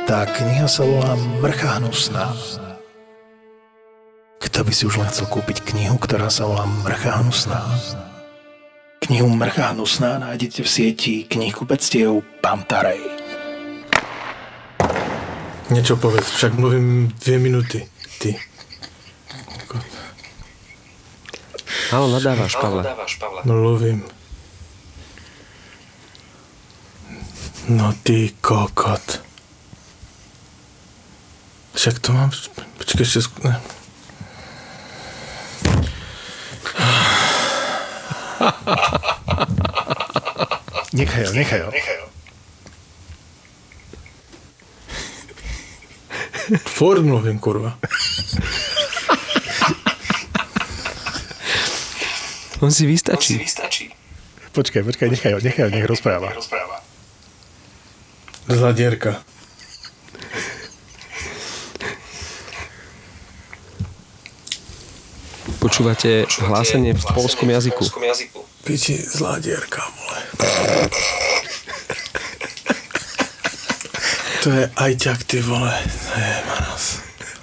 Tá kniha sa volá Mrcha hnusná. Kto by si už len chcel kúpiť knihu, ktorá sa volá Mrcha hnusná? Knihu Mrcha hnusná nájdete v sieti knihkupectiev Pantarej. Niečo povedz, však mluvím 2 minúty. Ty. Áno, nadávaš, Pavle. Mluvím. No ty kokot. Však to mám... Počkej, ešte... Nechaj ho. Ford mluvím, kurva. On si vystačí. Počkaj, nechaj ho, nech rozpráva. Zladierka. Počúvate hlásenie v poľskom jazyku. Piči, zladierka, vole. To je ajťak, ty vole. Manos.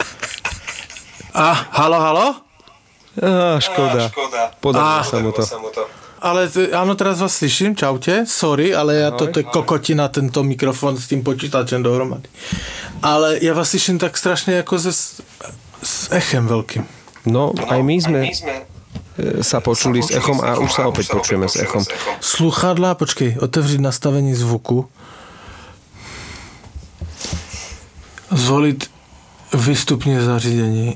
Halo? Škoda. Podarilo sa mu to. Ale áno, teraz vás slyším, čaute, sorry, ale to je kokotina, tento mikrofon s tým počítačem dohromady. Ale ja vás slyším tak strašne ako s echem veľkým. No, aj my sme sa počuli s echom a už sa opäť počujeme s echom. Sluchadlá, počkej, otevřiť nastavení zvuku. Zvoliť vystupne zařízení.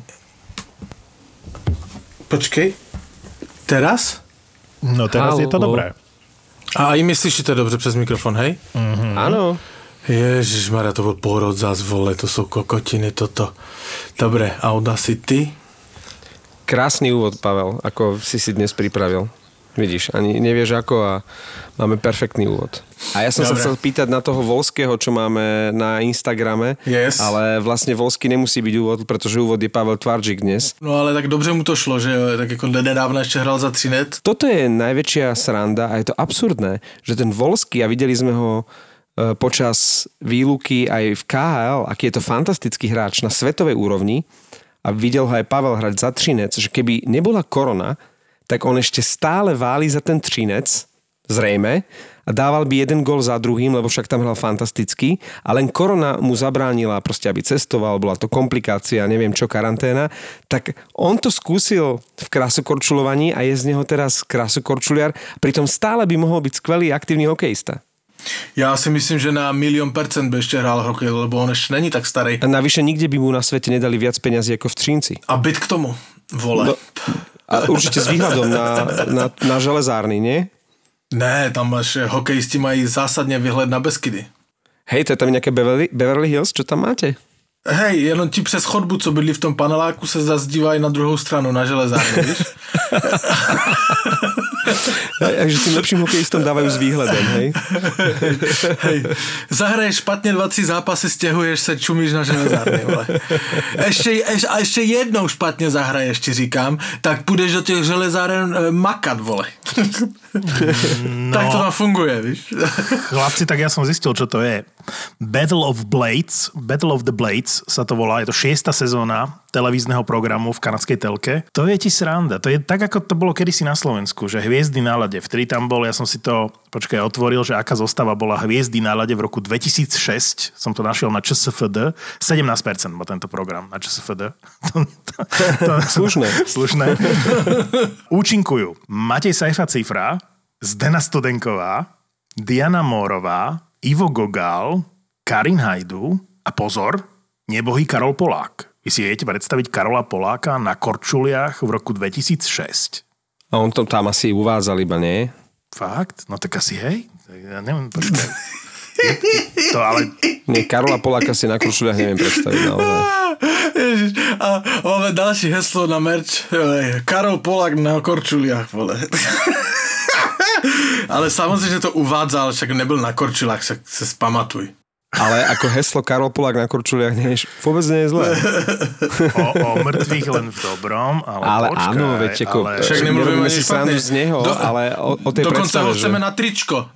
Počkej, teraz? No teraz je to dobré. A i my slyšíte dobře přes mikrofon, hej? Mm-hmm. Áno. Ježišmarja, to bol pôrod zás, vole, to sú kokotiny, toto. Dobre, Audacity. Krásny úvod, Pavel, ako si dnes pripravil. Vidíš, ani nevieš ako a máme perfektný úvod. A ja som sa chcel pýtať na toho Volského, čo máme na Instagrame, yes. Ale vlastne Volský nemusí byť úvod, pretože úvod je Pavel Tvarčík dnes. No ale tak dobře mu to šlo, že tak ako nedávno ešte hral za Třinec. Toto je najväčšia sranda a je to absurdné, že ten Volský, a videli sme ho počas výluky aj v KHL, aký je to fantastický hráč na svetovej úrovni, a videl ho aj Pavel hrať za Třinec, že keby nebola korona, tak on ešte stále váli za ten Třinec, zrejme, a dával by jeden gól za druhým, lebo však tam hral fantasticky, a len korona mu zabránila proste, aby cestoval, bola to komplikácia, neviem čo, karanténa, tak on to skúsil v krasokorčulovaní a je z neho teraz krasokorčuliar, pritom stále by mohol byť skvelý aktívny hokejista. Ja si myslím, že na 1,000,000% by ešte hral hokej, lebo on ešte není tak starý. A navyše nikde by mu na svete nedali viac peňazí ako v Třinci. A byt k tomu, vole. No, a určite s výhľadom na železárny, nie? Ne, tam hokejisti mají zásadne výhled na Beskydy. Hej, to je tam nejaké Beverly Hills, čo tam máte? Hej, jenom ti přes chodbu, co bydlí v tom paneláku, se zase dívají na druhou stranu, na železárnu, víš? Takže tým lepším hokejistom dávajú s výhľadom, hej? Hej, zahraješ špatne 2-3 zápasy, stěhuješ se, čumíš na železárny, vole. Ešte jednou špatne zahraješ, ti říkám, tak půjdeš do těch železáren makat, vole. No. Tak to tam funguje, víš? Chlapci, tak ja som zistil, čo to je. Battle of the Blades sa to volá, je to 6. sezóna televízneho programu v kanadskej telke. To je ti sranda. To je tak, ako to bolo kedysi na Slovensku, že Hviezdy na ľade. Vtedy tam bol, ja som si to, otvoril, že aká zostava bola Hviezdy na ľade v roku 2006. Som to našiel na ČSFD. 17% bol tento program na ČSFD. Slušné. Účinkujú Matej Sajfa-Cifra, Zdena Studenková, Diana Mórová, Ivo Gogál, Karin Hajdu a pozor, nebohý Karol Polák. Vy si viete predstaviť Karola Poláka na korčuliach v roku 2006? A on to tam asi uvádzal iba, nie? Fakt? No tak asi hej. Ja neviem, počkaj. To ale... Nie, Karola Poláka si na korčuliach neviem predstaviť naozaj. Ježiš, a máme další heslo na merch. Karol Polák na korčuliach, vole. Ale samozrejme, že to uvádzal, však nebyl na korčulách, však sa spamatuj. Ale ako heslo Karol Polák na korčuliach vôbec nie je zlé. O mŕtvych len v dobrom, ale počkaj, áno, veď ako, však nerobíme si srandu z neho, ale o tej dokonca predstave, ho chceme na tričko.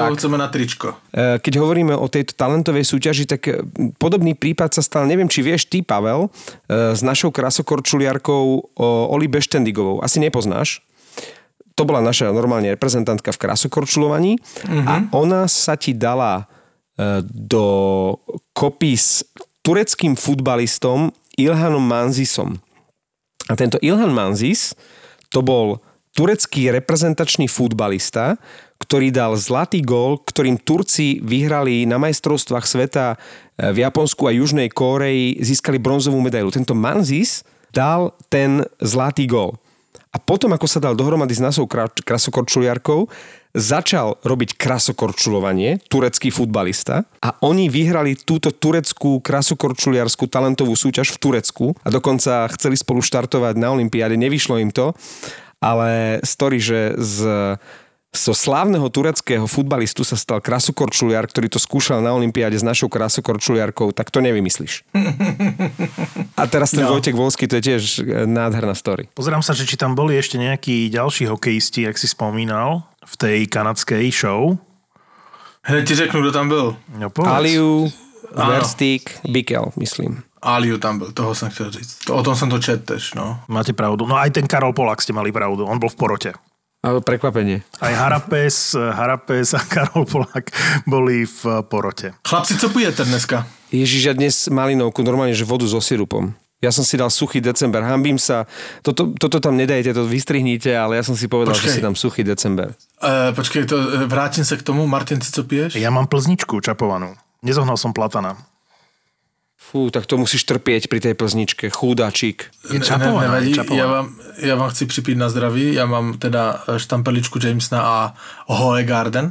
Keď hovoríme o tejto talentovej súťaži, tak podobný prípad sa stal, neviem, či vieš ty, Pavel, s našou krasokorčuliarkou Oli Beštendigovou. Asi nepoznáš. To bola naša normálne reprezentantka v krasokorčulovaní a ona sa ti dala do kopy s tureckým futbalistom Ilhanom Manzisom. A tento Ilhan Manzis to bol turecký reprezentačný futbalista, ktorý dal zlatý gól, ktorým Turci vyhrali na majstrovstvách sveta v Japonsku a Južnej Kóreji, získali bronzovú medailu. Tento Manzis dal ten zlatý gól. A potom, ako sa dal dohromady s našou krasokorčuliarkou, začal robiť krasokorčulovanie, turecký futbalista, a oni vyhrali túto tureckú krasokorčuliarskú talentovú súťaž v Turecku a dokonca chceli spolu štartovať na olympiáde, nevyšlo im to, ale story, že zo slávneho tureckého futbalistu sa stal krasokorčuliar, ktorý to skúšal na olympiáde s našou krasokorčuliarkou, tak to nevymyslíš. A teraz ten Vojtech Volský, to je tiež nádherná story. Pozerám sa, či tam boli ešte nejakí ďalší hokejisti, jak si spomínal, v tej kanadskej show. Hneď ti řeknu, kto tam byl. No, Aliu, Verstík, Bikel, myslím. Aliu tam byl, toho som chcel říct. O tom som to čet tež, no. Máte pravdu. No aj ten Karol Polák ste mali pravdu. On bol v porote. Prekvapenie. Aj Harapes a Karol Polák boli v porote. Chlapci, co pijete dneska? Ježiš, ja dnes malinovku, normálne, že vodu so sirupom. Ja som si dal suchý december, hanbím sa. Toto tam nedajte, to vystrihnite, ale ja som si povedal, že si dám suchý december. Počkej, vrátim sa k tomu. Martin, ty co piješ? Ja mám plzničku čapovanú. Nezohnal som platana. Fú, tak to musíš trpieť pri tej plzničke. Chúdačík. Nevadí, ja vám chci připít na zdraví. Ja mám teda štampeličku Jamesona a Hoegaarden.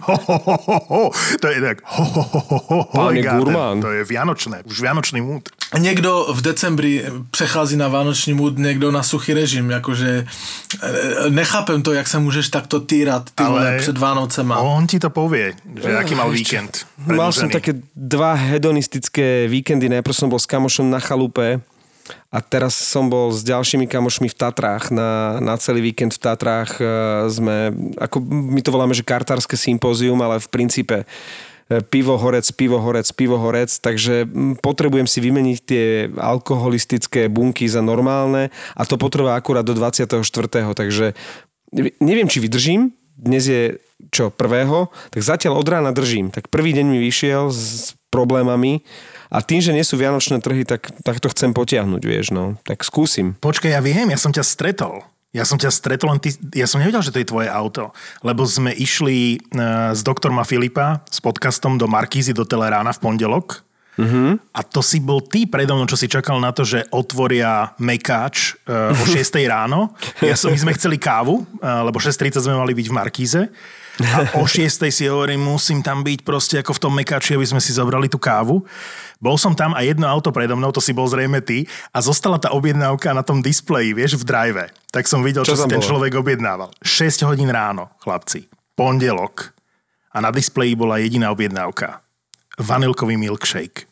To je tak. Hoegaarden. To je vianočné. Už vianočný múd. Niekto v decembri přechází na vánoční múd, niekto na suchý režim. Jakože nechápem to, jak sa môžeš takto týrať ty vole před Vánocema. On ti to povie, že aký mal víkend. Mal som také 2 hedonistické víkendy. Najprv som bol s kamošom na chalupe a teraz som bol s ďalšími kamošmi v Tatrách. Na celý víkend v Tatrách sme, ako my to voláme, že kartárske sympózium, ale v princípe pivo, horec, takže potrebujem si vymeniť tie alkoholistické bunky za normálne a to potrvá akurát do 24. Takže neviem, či vydržím. Dnes je prvého, tak zatiaľ od rána držím. Tak prvý deň mi vyšiel s problémami a tým, že nie sú vianočné trhy, tak to chcem potiahnuť, vieš, no. Tak skúsim. Počkaj, ja viem, ja som ťa stretol, len ja som nevedel, že to je tvoje auto, lebo sme išli s doktorma Filipa s podcastom do Markízy do Telerána v pondelok a to si bol ty predo mnou, čo si čakal na to, že otvoria Mekáč o 6 ráno. My sme chceli kávu, lebo 6:30 sme mali byť v Markíze a o 6 si hovorím, musím tam byť proste ako v tom Mekáči, aby sme si zobrali tú kávu. Bol som tam a jedno auto predo mnou, to si bol zrejme ty, a zostala tá objednávka na tom displeji, vieš, v drive. Tak som videl, čo si ten človek objednával. 6 hodín ráno, chlapci. Pondelok. A na displeji bola jediná objednávka. Vanilkový milkshake.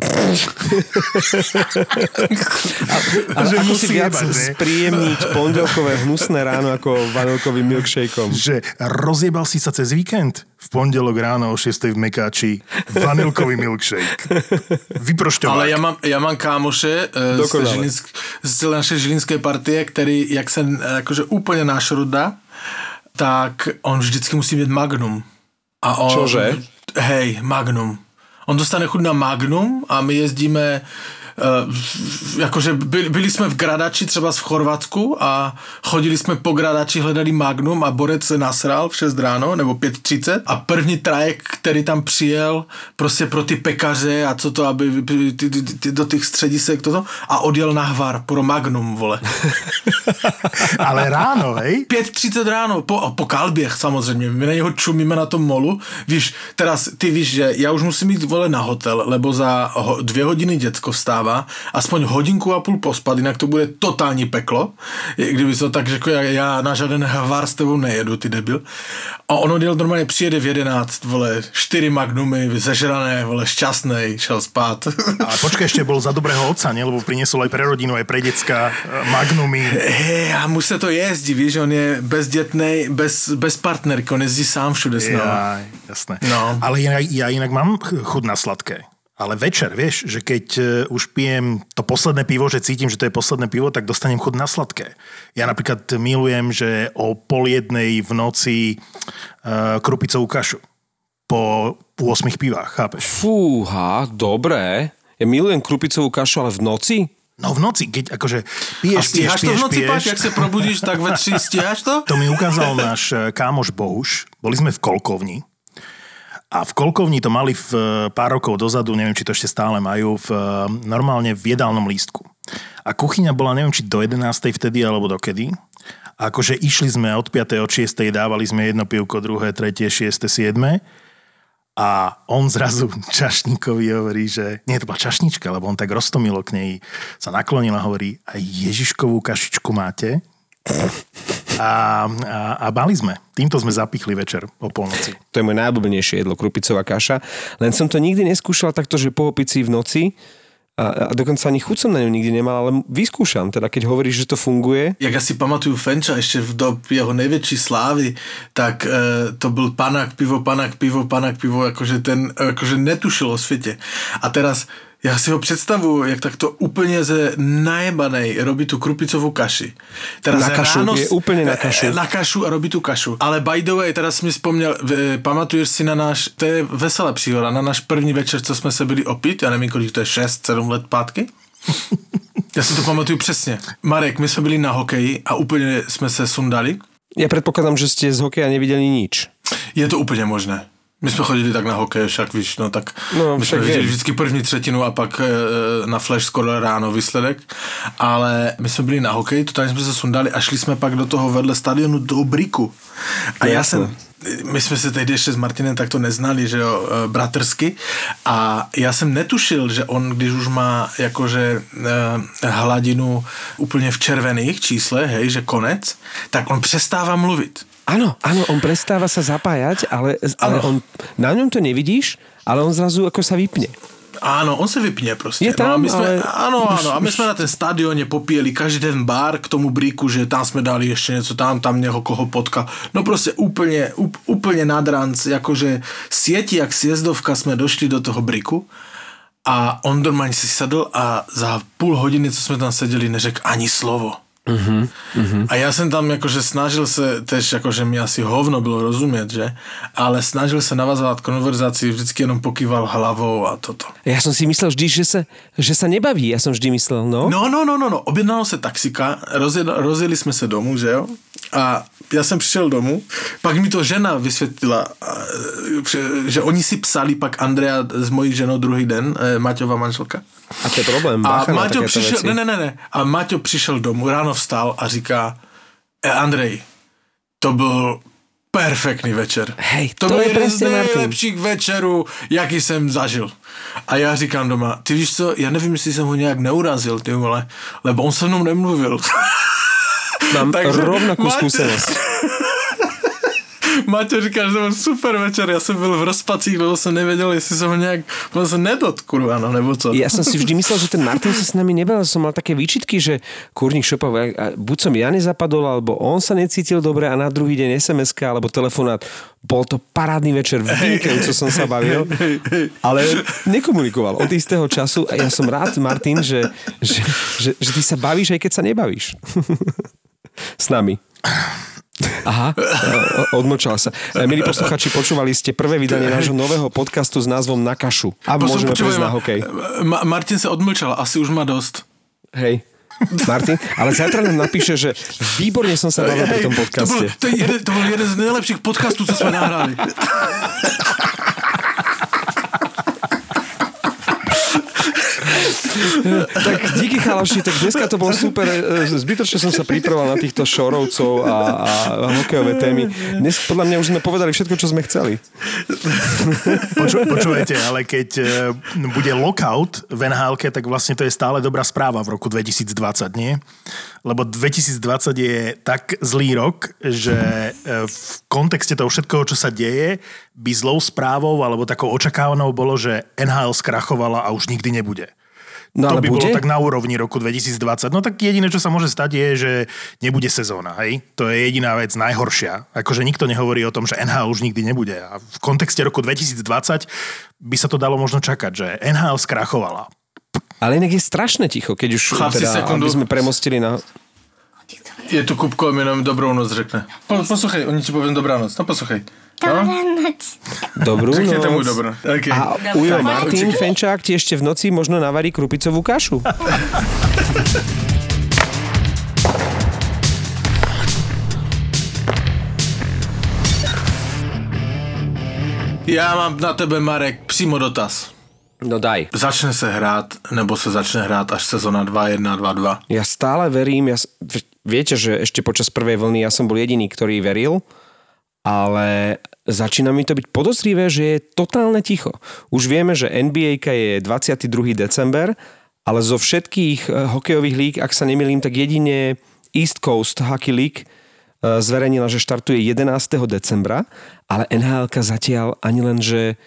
Ale ako si viac spríjemniť pondelkové hnusné ráno ako vanilkovým milkshakeom? Že rozjebal si sa cez víkend? V pondelok ráno o 6 v Mekáči vanilkový milkshake. Vyprošťovák. Ale ja mám kámoše z našej žilinskej partie, ktorý, jak sa akože úplne našruda, tak on vždycky musí mať Magnum. A on, čože? Hej, Magnum. On dostane chuť na Magnum a my jezdíme akože byli sme v Gradači třeba v Chorvatsku a chodili jsme po Gradači, hledali Magnum a Borec se nasral v 6 ráno nebo 5:30 a první trajek, který tam přijel prostě pro ty pekaře a co to, aby do těch středisek toto a odjel na Hvar pro Magnum, vole. Ale ráno, hej? 5:30 ráno, po Kalběch samozřejmě, my na něho čumíme na tom molu, víš, teraz ty víš, že já už musím jít, vole, na hotel, lebo za 2 hodiny děcko vstává dáva, aspoň hodinku a půl pospat, jinak to bude totální peklo. Kdyby to tak řekl, já na žádný hvar s tebou nejedu, ty debil. A ono děl normálně přijede v 11, vole, 4 magnumy, zežrané, vole, šťastnej, šel spát. A počkaj, ešte bol za dobrého otca, nie? Lebo priniesol aj pre rodinu, aj pre decka magnumy. A mu se to jezdí, víš, on je bezdětnej, bez partnerky, on jezdí sám všude s námi. Jasné. No. Ale ja inak mám chuť na sladké. Ale večer, vieš, že keď už pijem to posledné pivo, že cítim, že to je posledné pivo, tak dostanem chuť na sladké. Ja napríklad milujem, že o 12:30 v noci krupicovú kašu. Po 8 pivách, chápeš? Fúha, dobré. Ja milujem krupicovú kašu, ale v noci? No v noci, keď akože piješ. A stíhaš to v noci, Páť, jak sa probudíš, tak ve 3 stíhaš to? To mi ukázal náš kámoš Bohuš. Boli sme v Kolkovni. A v Kolkovni to mali pár rokov dozadu, neviem, či to ešte stále majú, normálne v jedálnom lístku. A kuchyňa bola, neviem, či do 11. vtedy, alebo dokedy. A akože išli sme od 5. od 6. dávali sme jedno pivko, druhé, tretie, 6., 7. A on zrazu čašníkovi hovorí, že... Nie, to bola čašnička, lebo on tak roztomilo k nej, sa naklonil a hovorí, a Ježiškovú kašičku máte? A mali sme. Týmto sme zapichli večer o polnoci. To je moje najobľúbenejšie jedlo, krupicová kaša. Len som to nikdy neskúšal takto, že po opici v noci a dokonca ani chuť som na ňu nikdy nemal, ale vyskúšam. Teda keď hovoríš, že to funguje. Jak asi pamatuju Fenča ešte v dob jeho nejväčší slávy, tak to byl panák pivo, akože ten akože netušil o svete. A teraz ja si ho predstavuju, jak takto úplne ze najebanej robí tú krupicovú kaši. Teraz na kašu, ráno, je úplne na kašu. Na kašu a robí tú kašu. Ale by the way, teraz mi spomněl, pamatuješ si na náš, to je veselá příhoda, na náš první večer, co jsme se byli opít, ja nevím, kolik to je, 6-7 let pátky? Ja si to pamatuju přesně. Marek, my jsme byli na hokeji a úplně jsme se sundali. Ja predpokladám, že ste z hokeja nevideli nič. Je to úplně možné. My jsme chodili tak na hokej, však víš, no tak my jsme viděli vždycky první třetinu a pak na flash skoro ráno výsledek, ale my jsme byli na hokej, totálně jsme se sundali a šli jsme pak do toho vedle stadionu do Briku. A my jsme se tehdy ještě s Martinem takto neznali, že jo, bratrsky, a já jsem netušil, že on, když už má jakože hladinu úplně v červených číslech, hej, že konec, tak on přestává mluvit. Áno, on prestáva sa zapájať, ale on, na ňom to nevidíš, ale on zrazu ako sa vypne. Áno, on sa vypne proste. Je tam, no, a my sme, ale... Áno, a my sme na ten stadióne popíjeli každý ten bar k tomu Briku, že tam sme dali ešte niečo, tam nieho koho potka. No proste úplne nad ranc, akože sieti jak sjezdovka sme došli do toho Briku a on normálne si sadl a za půl hodiny, co sme tam sedeli, neřekl ani slovo. A ja som tam akože snažil sa, tež akože mi asi hovno bylo rozumieť, že? Ale snažil sa navazovať konverzácii, vždycky jenom pokýval hlavou a toto. Ja som si myslel vždy, že sa nebaví, ja som vždy myslel, no. No, objednalo sa taxika, rozjeli sme sa domů, že jo? A ja som prišiel domů, pak mi to žena vysvetlila, že oni si psali pak Andrea s mojí ženou druhý den, Maťová manželka. A to je problém, bacha na takéto veci. Ne. A Maťo přišel domů, ráno vstal a říká, Andrej, to byl perfektný večer. Hej, to je byl jeden z presne nejlepších večerů, jaký jsem zažil. A já říkám doma, ty víš co, já nevím, jestli jsem ho nějak neurazil, ty vole, lebo on se mnou nemluvil. Mám rovnakú skúsenosť. Maťo říká, že to byl super večer, ja som byl v rozpacích, lebo som nevedel, jestli som ho nejak nedotknul, ano, nebo co. Ja som si vždy myslel, že ten Martin sa s nami nebal, som mal také výčitky, že kurník šopal, buď som ja nezapadol, alebo on sa necítil dobre a na druhý deň SMS-ka alebo telefonát. Bol to parádny večer, vynikajúco som sa bavil, ale nekomunikoval od istého času a ja som rád, Martin, že ty sa bavíš, aj keď sa nebavíš. S nami. Aha, odmlčala sa. Milí posluchači, počúvali ste prvé vydanie nášho nového podcastu s názvom Na kašu. A môžeme prejsť na hokej. Martin sa odmlčal, asi už má dosť. Hej. Martin, ale zajtra nám napíše, že výborne som sa bavil pri tom podcaste. To bol jeden z najlepších podcastov, co sme nahrali. Tak díky chalaši, tak dneska to bolo super. Zbytočne som sa pripravoval na týchto šorovcov a hokejové témy. Dnes podľa mňa už sme povedali všetko, čo sme chceli. Počúvajte, ale keď bude lockout v NHL-ke, tak vlastne to je stále dobrá správa v roku 2020, nie? Lebo 2020 je tak zlý rok, že v kontexte toho všetkoho, čo sa deje, by zlou správou alebo takou očakávanou bolo, že NHL skrachovala a už nikdy nebude. No, to by bolo tak na úrovni roku 2020. No tak jediné, čo sa môže stať, je, že nebude sezóna. Hej? To je jediná vec najhoršia. Akože nikto nehovorí o tom, že NHL už nikdy nebude. A v kontexte roku 2020 by sa to dalo možno čakať, že NHL skrachovala. Ale inak je strašne ticho, keď už aby sme premostili na... Je tu Kupko, mi jenom dobrou noc řekne. Posluchej, oni ti poviem dobrá noc. No posluchej. Dobrá noc. Dobrú Řeknete noc. mu dobrá. Okay. A Ujo Martin Fenčák ti ešte v noci možno navarí krupicovú kašu. Já mám na tebe, Marek, přímo dotaz. No daj. Začne se hrát, nebo se začne hrát až sezóna 2-1, 2-2? Ja stále verím, viete, že ešte počas prvej vlny ja som bol jediný, ktorý veril, ale začína mi to byť podozrivé, že je totálne ticho. Už vieme, že NBA-ka je 22. december, ale zo všetkých hokejových líg, ak sa nemýlim, tak jedine East Coast Hockey League zverejnila, že štartuje 11. decembra, ale NHL-ka zatiaľ ani len, že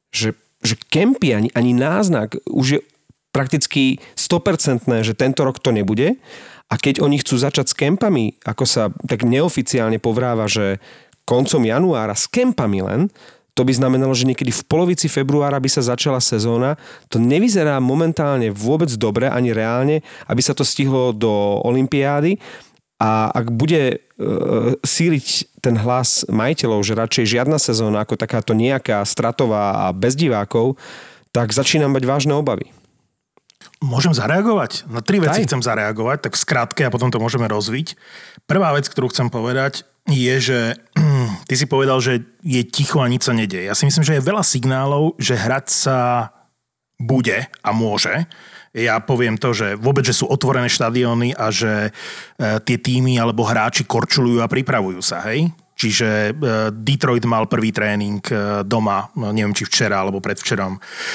kempy, ani náznak, už je prakticky 100%, že tento rok to nebude. A keď oni chcú začať s kempami, ako sa tak neoficiálne povráva, že koncom januára s kempami len, to by znamenalo, že niekedy v polovici februára by sa začala sezóna. To nevyzerá momentálne vôbec dobre, ani reálne, aby sa to stihlo do olympiády. A ak bude síliť ten hlas majiteľov, že radšej žiadna sezóna ako takáto nejaká stratová a bez divákov, tak začínam mať vážne obavy. Môžem zareagovať? Na 3 veci chcem zareagovať, tak v skratke a potom to môžeme rozviť. Prvá vec, ktorú chcem povedať, je, že ty si povedal, že je ticho a nič sa nedieje. Ja si myslím, že je veľa signálov, že hrať sa bude a môže. Ja poviem to, že vôbec, že sú otvorené štadióny a že tie týmy alebo hráči korčulujú a pripravujú sa, hej? Čiže Detroit mal prvý tréning doma, neviem, či včera alebo predvčerom.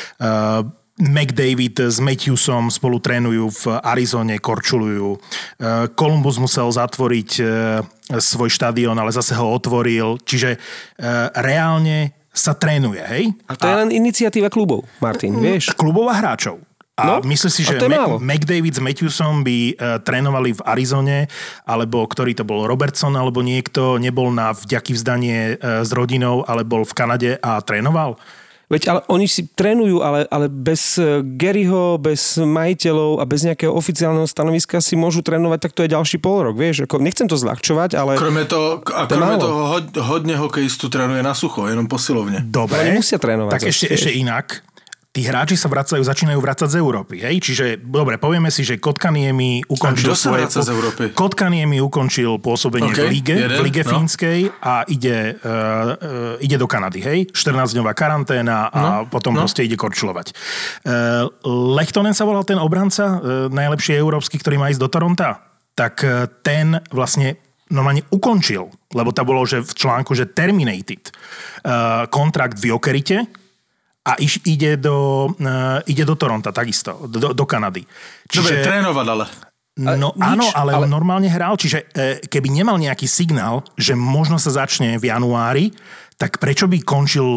McDavid s Matthewsom spolu trénujú v Arizone, korčulujú. Columbus musel zatvoriť svoj štadión, ale zase ho otvoril. Čiže reálne sa trénuje, hej? A to je len iniciatíva klubov, Martin, vieš? Klubov a hráčov. A myslíš si, že McDavid s Matthewsom by trénovali v Arizone, alebo ktorý to bol, Robertson, alebo niekto nebol na vďaky vzdanie s rodinou, ale bol v Kanade a trénoval? Veď ale oni si trénujú, ale bez Garyho, bez majiteľov a bez nejakého oficiálneho stanoviska si môžu trénovať, tak to je ďalší polrok, vieš? Ako, nechcem to zľahčovať, ale... Kromě toho hodne hokejistu trénuje na sucho, jenom posilovne. Dobre, oni musia trénovať. Tak ešte inak. Tí hráči sa začínajú vracať z Európy, hej? Čiže, dobre, povieme si, že Kotkaniemi ukončil ukončil pôsobenie v lige fínskej a ide do Kanady, hej? 14-dňová karanténa a potom proste ide korčulovať. Lehtonen sa volal ten obranca, najlepší európsky, ktorý má ísť do Toronta. Tak ten vlastne normálne ukončil, lebo to bolo, že v článku, že terminated kontrakt v Jokerite, a ide do Toronta takisto, do Kanady. Dobre, trénovať ale. No áno, ale on normálne hral, čiže keby nemal nejaký signál, že možno sa začne v januári, tak prečo by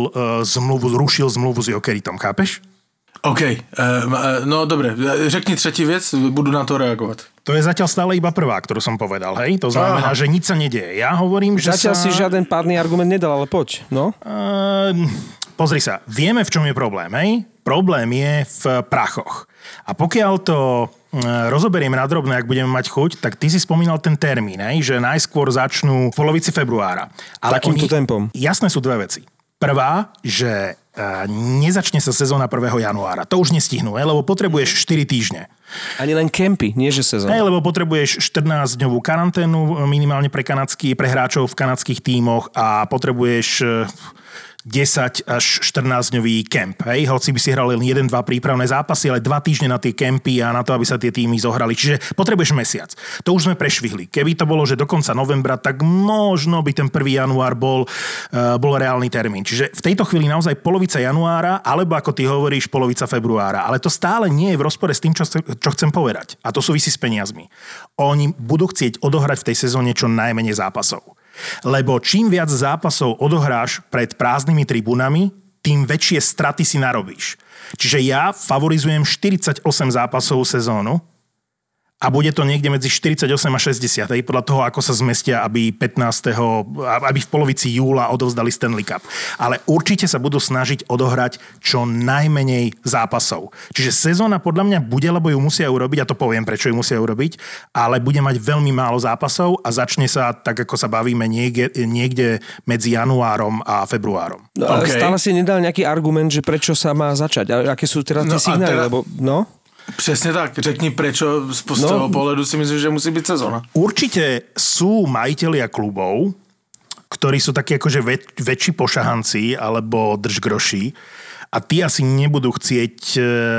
rušil zmluvu s Jokeritom, chápeš? OK, no dobre, řekni třetí vec, budu na to reagovať. To je zatiaľ stále iba prvá, ktorú som povedal, hej? To znamená, že nič sa nedieje. Ja hovorím, že zatiaľ si žiaden pádny argument nedal, ale poď, no. Pozri sa, vieme, v čom je problém, hej? Problém je v prachoch. A pokiaľ to rozoberieme na drobné, ak budeme mať chuť, tak ty si spomínal ten termín, hej? Že najskôr začnú v polovici februára. Ale takýmto tempom. Jasné sú dve veci. Prvá, že nezačne sa sezóna 1. januára. To už nestihnú, lebo potrebuješ 4 týždne. Ani len kempy, nie že sezóna. Lebo potrebuješ 14-dňovú karanténu minimálne pre hráčov v kanadských tímoch a potrebuješ 10 až 14-dňový kemp. Hej? Hoci by si hrali len 1-2 prípravné zápasy, ale 2 týždne na tie kempy a na to, aby sa tie týmy zohrali. Čiže potrebuješ mesiac. To už sme prešvihli. Keby to bolo, že do konca novembra, tak možno by ten 1. január bol reálny termín. Čiže v tejto chvíli naozaj polovica januára, alebo ako ty hovoríš, polovica februára. Ale to stále nie je v rozpore s tým, čo chcem povedať. A to súvisí s peniazmi. Oni budú chcieť odohrať v tej sezóne čo najmenej zápasov. Lebo čím viac zápasov odohráš pred prázdnymi tribúnami, tým väčšie straty si narobíš. Čiže ja favorizujem 48 zápasovú sezónu a bude to niekde medzi 48 a 60, podľa toho, ako sa zmestia, aby v polovici júla odovzdali Stanley Cup. Ale určite sa budú snažiť odohrať čo najmenej zápasov. Čiže sezóna podľa mňa bude, lebo ju musia urobiť, a to poviem, prečo ju musia urobiť, ale bude mať veľmi málo zápasov a začne sa, tak ako sa bavíme, niekde medzi januárom a februárom. No, ale stále si nedal nejaký argument, že prečo sa má začať. A aké sú teraz tie signály, lebo Přesně tak, řekni prečo z toho pohledu si myslíš, že musí byť sezóna. Určite sú majitelia klubov, ktorí sú takí akože väčší pošahanci alebo držgroši a tí asi nebudú chcieť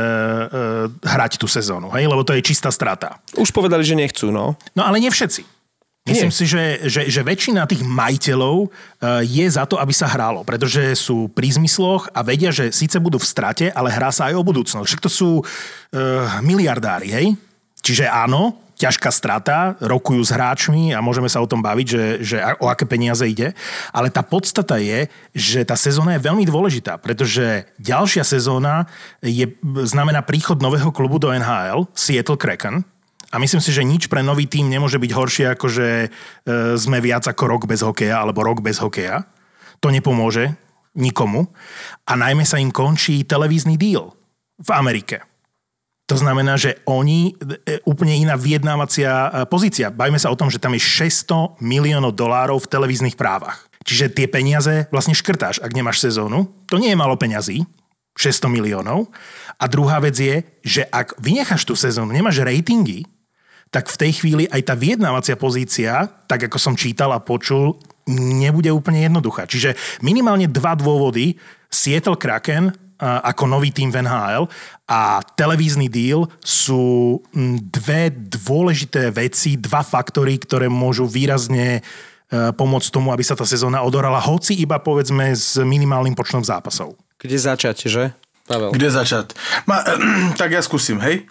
hrať tú sezónu, hej? Lebo to je čistá strata. Už povedali, že nechcú, no. No ale nie všetci. Myslím si, že väčšina tých majiteľov je za to, aby sa hralo, pretože sú pri zmysloch a vedia, že síce budú v strate, ale hrá sa aj o budúcnosť. Však to sú miliardári, hej? Čiže áno, ťažká strata, rokujú s hráčmi a môžeme sa o tom baviť, že o aké peniaze ide. Ale tá podstata je, že tá sezóna je veľmi dôležitá, pretože ďalšia sezóna znamená príchod nového klubu do NHL, Seattle Kraken. A myslím si, že nič pre nový tím nemôže byť horšie, ako že sme viac ako rok bez hokeja alebo rok bez hokeja. To nepomôže nikomu. A najmä sa im končí televízny deal v Amerike. To znamená, že oni, úplne iná vyjednávacia pozícia. Bavíme sa o tom, že tam je $600 miliónov v televíznych právach. Čiže tie peniaze vlastne škrtáš, ak nemáš sezónu. To nie je málo peňazí, 600 miliónov. A druhá vec je, že ak vynecháš tú sezónu, nemáš ratingy, tak v tej chvíli aj tá vyjednávacia pozícia, tak ako som čítal a počul, nebude úplne jednoduchá. Čiže minimálne 2 dôvody. Seattle Kraken ako nový tím v NHL a televízny deal sú 2 dôležité veci, 2 faktory, ktoré môžu výrazne pomôcť tomu, aby sa tá sezóna odohrala, hoci iba povedzme s minimálnym počtom zápasov. Kde začať, že? Pavel. Kde začať? Tak ja skúsim, hej.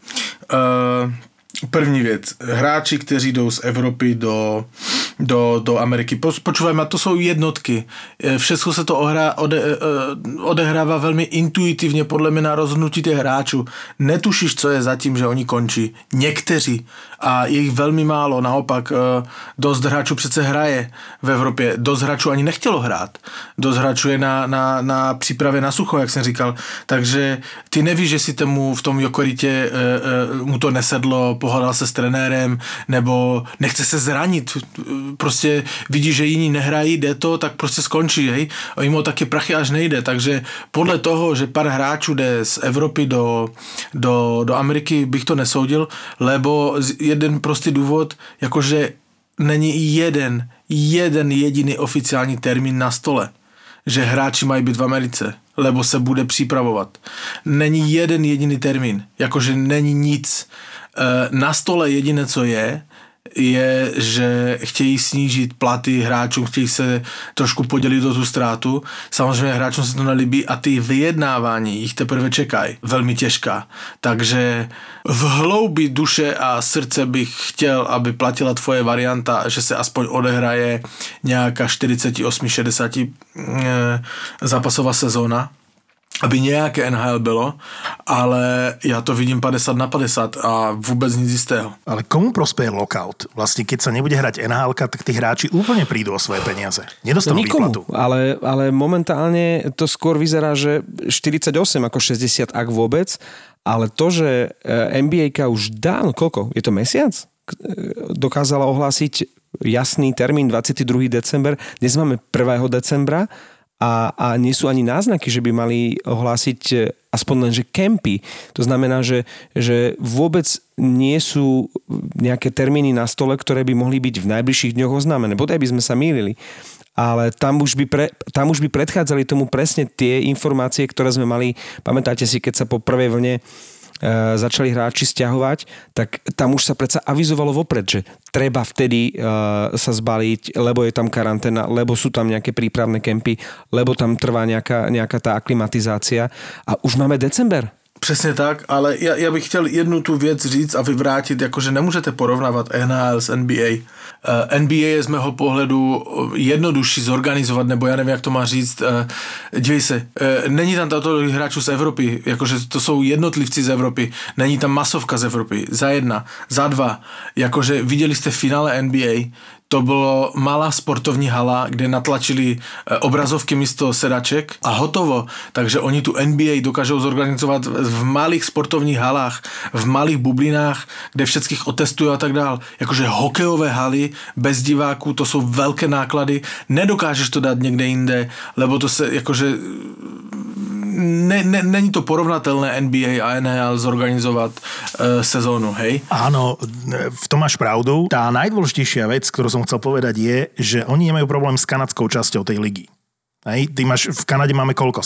První věc. Hráči, kteří jdou z Evropy do Ameriky. Počúvaj, to jsou jednotky. Všechno se to odehrává velmi intuitivně podle mě na rozhodnutí těch hráčů. Netušíš, co je zatím, že oni končí. Někteří. A je jich velmi málo. Naopak, dost hráčů přece hraje v Evropě. Dost hráčů ani nechtělo hrát. Dost hráčů je na přípravě na sucho, jak jsem říkal. Takže ty nevíš, že si tomu v tom Jokeritě mu to nesedlo, pohádal se s trenérem, nebo nechce se zranit. Prostě vidí, že jiní nehrají, jde to, tak prostě skončí, hej. A jim o taky prachy až nejde. Takže podle toho, že pár hráčů jde z Evropy do Ameriky, bych to nesoudil, lebo jeden prostý důvod, jakože není jeden jediný oficiální termín na stole, že hráči mají být v Americe, lebo se bude připravovat. Není jeden jediný termín, jakože není nic. Na stole jediné, co je, že chtějí snížit platy hráčům, chtějí se trošku podělit o tu ztrátu. Samozřejmě hráčům se to nelíbí a ty vyjednávání jich teprve čekají. Velmi těžká. Takže v hloubi duše a srdce bych chtěl, aby platila tvoje varianta, že se aspoň odehraje nějaká 48-60 zápasová sezóna, aby nějaké NHL bylo, ale já to vidím 50/50 a vůbec nic jistého. Ale komu prospeje lockout? Vlastne, keď sa nebude hrať NHL, tak tí hráči úplne prídu o svoje peniaze. Nedostanú výplatu. Ale momentálne to skôr vyzerá, že 48 ako 60, ak vôbec, ale to, že NBA-ka už dávno, koľko? Je to mesiac? Dokázala ohlásiť jasný termín 22. december. Dnes máme 1. decembra. A nie sú ani náznaky, že by mali ohlásiť aspoň len, že kempy. To znamená, že vôbec nie sú nejaké termíny na stole, ktoré by mohli byť v najbližších dňoch oznámené. Bodaj by sme sa mýlili. ale tam už by predchádzali tomu presne tie informácie, ktoré sme mali. Pamätáte si, keď sa po prvej vlne začali hráči sťahovať, tak tam už sa predsa avizovalo vopred, že treba vtedy sa zbaliť, lebo je tam karanténa, lebo sú tam nejaké prípravné kempy, lebo tam trvá nejaká tá aklimatizácia a už máme december. Přesně tak, ale já bych chtěl jednu tu věc říct a vyvrátit, jakože nemůžete porovnávat NHL s NBA. NBA je z mého pohledu jednodušší zorganizovat, nebo já nevím, jak to má říct. Dívej se, není tam tato hráčů z Evropy, jakože to jsou jednotlivci z Evropy, není tam masovka z Evropy, za jedna, za dva, jakože viděli jste finále NBA, to bylo malá sportovní hala, kde natlačili obrazovky místo sedaček a hotovo. Takže oni tu NBA dokážou zorganizovat v malých sportovních halách, v malých bublinách, kde všetkých otestují a tak dál. Jakože hokejové haly bez diváků, to jsou velké náklady. Nedokážeš to dát někde jinde, lebo to se jakože není to porovnatelné NBA a NHL zorganizovať sezónu, hej? Áno, v tom máš pravdu. Tá najdôležitejšia vec, ktorú som chcel povedať je, že oni nemajú problém s kanadskou časťou tej ligy. Hej, ty máš, v Kanade máme koľko?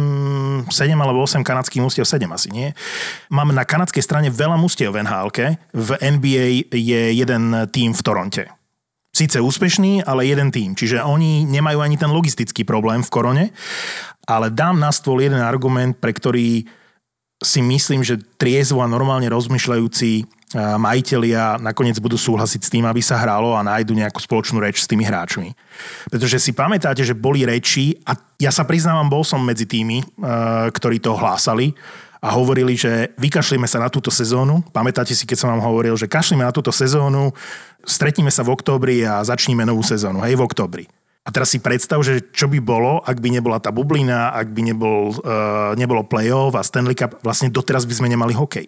7 alebo 8 kanadských mustiev, 7 asi, nie? Máme na kanadskej strane veľa mustiev v NHL-ke, v NBA je jeden tím v Toronte. Síce úspešný, ale jeden tím. Čiže oni nemajú ani ten logistický problém v korone, ale dám na stôl jeden argument, pre ktorý si myslím, že triezvo a normálne rozmýšľajúci majitelia nakoniec budú súhlasiť s tým, aby sa hralo a nájdu nejakú spoločnú reč s tými hráčmi. Pretože si pamätáte, že boli reči, a ja sa priznávam, bol som medzi tými, ktorí to hlásali a hovorili, že vykašlíme sa na túto sezónu. Pamätáte si, keď som vám hovoril, že kašlíme na túto sezónu, stretníme sa v októbri a začníme novú sezónu, hej, v októbri. A teraz si predstav, že čo by bolo, ak by nebola tá bublina, ak by nebolo play-off a Stanley Cup, vlastne doteraz by sme nemali hokej.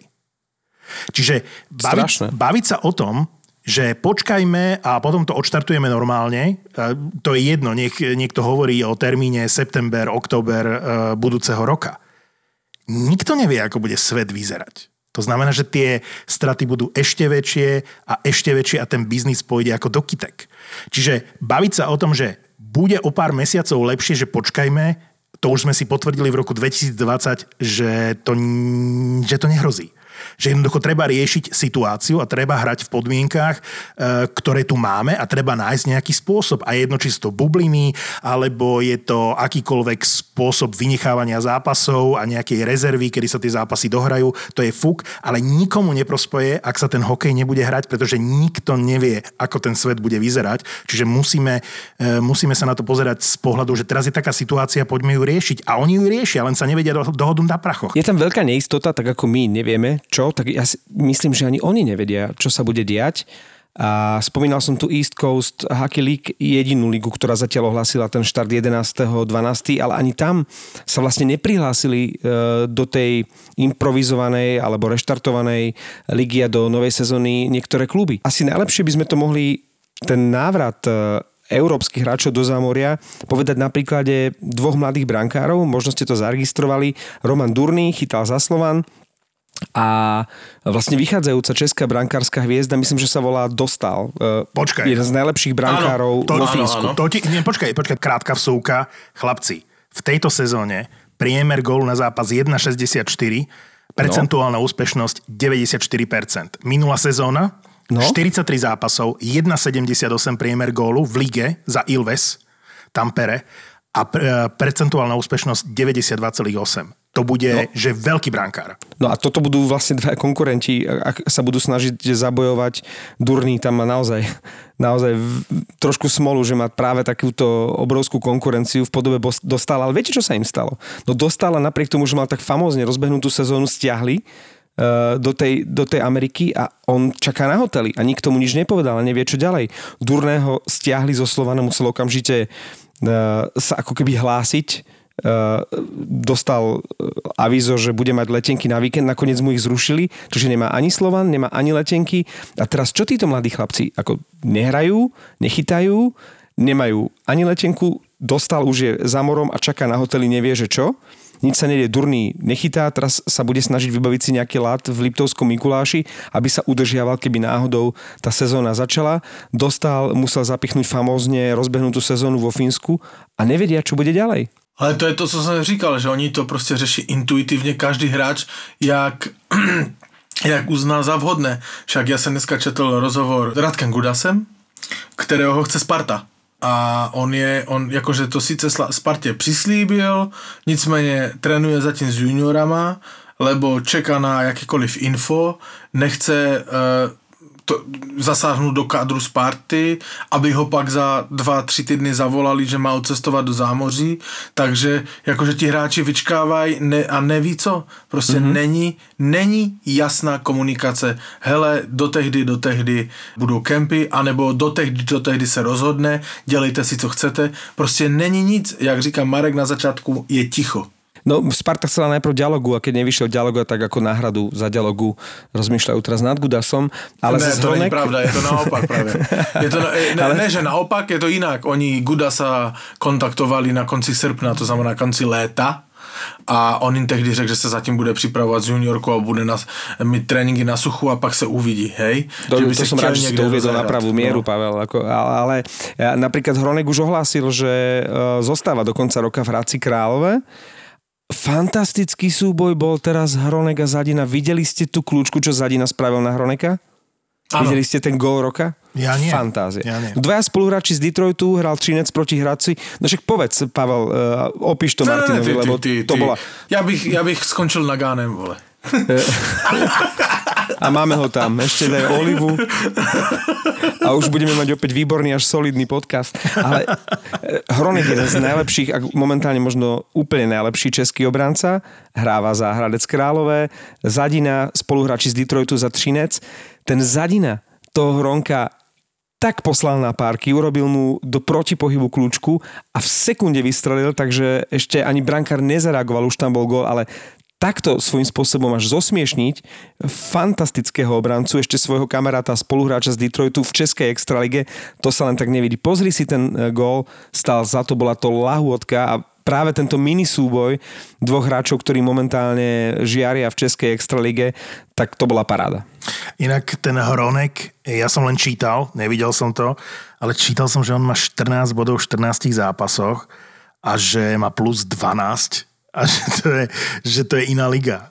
Čiže baviť sa o tom, že počkajme a potom to odštartujeme normálne, to je jedno, niekto hovorí o termíne september, október budúceho roka. Nikto nevie, ako bude svet vyzerať. To znamená, že tie straty budú ešte väčšie a ten biznis pôjde ako do kytek. Čiže baviť sa o tom, že bude o pár mesiacov lepšie, že počkajme, to už sme si potvrdili v roku 2020, že to nehrozí. Že jednoducho treba riešiť situáciu a treba hrať v podmienkách, ktoré tu máme a treba nájsť nejaký spôsob. A jedno, či sú to bubliny, alebo je to akýkoľvek spôsob vynechávania zápasov a nejakej rezervy, kedy sa tie zápasy dohrajú, to je fuk, ale nikomu neprospeje, ak sa ten hokej nebude hrať, pretože nikto nevie, ako ten svet bude vyzerať. Čiže musíme sa na to pozerať z pohľadu, že teraz je taká situácia, poďme ju riešiť. A oni ju riešia, len sa nevedia dohodnúť na prachoch. Je tam veľká neistota, tak ako my nevieme, čo, tak ja si myslím, že ani oni nevedia, čo sa bude diať. A spomínal som tu East Coast Hockey League, jedinú ligu, ktorá zatiaľ ohlásila ten štart 11.12., ale ani tam sa vlastne neprihlásili do tej improvizovanej alebo reštartovanej ligy a do novej sezóny niektoré kluby. Asi najlepšie by sme to mohli, ten návrat európskych hráčov do zámoria, povedať na príklade dvoch mladých brankárov, možno ste to zaregistrovali. Roman Durný chytal za Slovan a vlastne vychádzajúca česká brankárska hviezda, myslím, že sa volá Dostal. Počkaj. Jeden z najlepších brankárov vo Fínsku. Počkaj, krátka vsúka. Chlapci, v tejto sezóne priemer gólu na zápas 1,64, percentuálna úspešnosť 94%. Minulá sezóna 43 zápasov, 1,78 priemer gólu v lige za Ilves, Tampere a percentuálna úspešnosť 92,8. To bude, že veľký brankár. No a toto budú vlastne dva konkurenti, ak sa budú snažiť zabojovať. Durný tam má naozaj trošku smolu, že má práve takúto obrovskú konkurenciu v podobe Dostala. Ale viete, čo sa im stalo? No Dostala napriek tomu, že mal tak famózne rozbehnutú sezónu, stiahli do tej Ameriky a on čaká na hoteli a nikto mu nič nepovedal a nevie, čo ďalej. Durného stiahli zo Slovana, musel okamžite sa ako keby hlásiť. Dostal avízo, že bude mať letenky na víkend, nakoniec mu ich zrušili, čiže nemá ani Slovan, nemá ani letenky. A teraz čo títo mladí chlapci? Ako nehrajú, nechytajú, nemajú ani letenku, Dostal už je za morom a čaká na hoteli, nevie, že čo. nič sa nedie, Durný nechytá, teraz sa bude snažiť vybaviť si nejaký lat v Liptovskom Mikuláši, aby sa udržiaval, keby náhodou tá sezóna začala. Musel zapichnúť famózne rozbehnutú sezónu vo Fínsku a nevedia, čo bude ďalej. Ale to je to, co jsem říkal, že oni to prostě řeší intuitivně, každý hráč, jak uzná za vhodné. Však já jsem dneska četl rozhovor s Radkem Gudasem, kterého ho chce Sparta. A on jakože to sice Spartě přislíbil, nicméně trénuje zatím s juniorama, lebo čeká na jakékoliv info, nechce zasáhnout do kádru Sparty, aby ho pak za 2-3 týdny zavolali, že má odcestovat do zámoří, takže jakože ti hráči vyčkávají a neví co, prostě není jasná komunikace, hele, do tehdy budou kempy, anebo do tehdy se rozhodne, dělejte si, co chcete, prostě není nic, jak říká Marek na začátku, je ticho. No, Sparta chcela najprv Dialogu a keď nevyšiel Dialogu, tak ako náhradu za Dialogu rozmýšľajú teraz nad Gudasom. Ale ne, to není pravda, je to naopak právě. Ne, že naopak, je to jinak. Oni Gudasa kontaktovali na konci srpna, to znamená na konci léta, a on jim tehdy řekl, že se zatím bude připravovat s juniorkou a bude mít tréninky na suchu a pak se uvidí, hej? To som rád, že si to uviedol na pravú mieru, no. Pavel. Ale napríklad Hronek už ohlásil, že zostáva do konca roka v Hradci Králové. Fantastický súboj bol teraz Hronek a Zadina. Videli ste tú kľúčku, čo Zadina spravil na Hroneka? Ano. Videli ste ten gól roka? Ja nie. Fantázia. Ja nie. Dvaja spoluhráči z Detroitu, hral Třinec proti Hradci. No však povedz, Pavel, opíš to Martinovi, lebo to bola... Ja bych skončil na Gánem, vole. A máme ho tam. Ešte daj Olivu. A už budeme mať opäť výborný až solidný podcast. Ale Hronek je jeden z najlepších, a momentálne možno úplne najlepší český obranca. Hráva za Hradec Králové. Zadina, spoluhráči z Detroitu za Třinec. Ten Zadina toho Hronka tak poslal na párky, urobil mu do protipohybu kľúčku a v sekunde vystrelil, takže ešte ani brankár nezareagoval, už tam bol gól, ale takto svojím spôsobom až zosmiešniť fantastického obrancu, ešte svojho kamaráta a spoluhráča z Detroitu v českej extralige, to sa len tak nevidí. Pozri si ten gól, stál za to, bola to lahôdka a práve tento mini súboj dvoch hráčov, ktorí momentálne žiaria v českej extralige, tak to bola paráda. Inak ten Hronek, ja som len čítal, nevidel som to, ale čítal som, že on má 14 bodov v 14 zápasoch a že má plus 12 a že to je iná liga.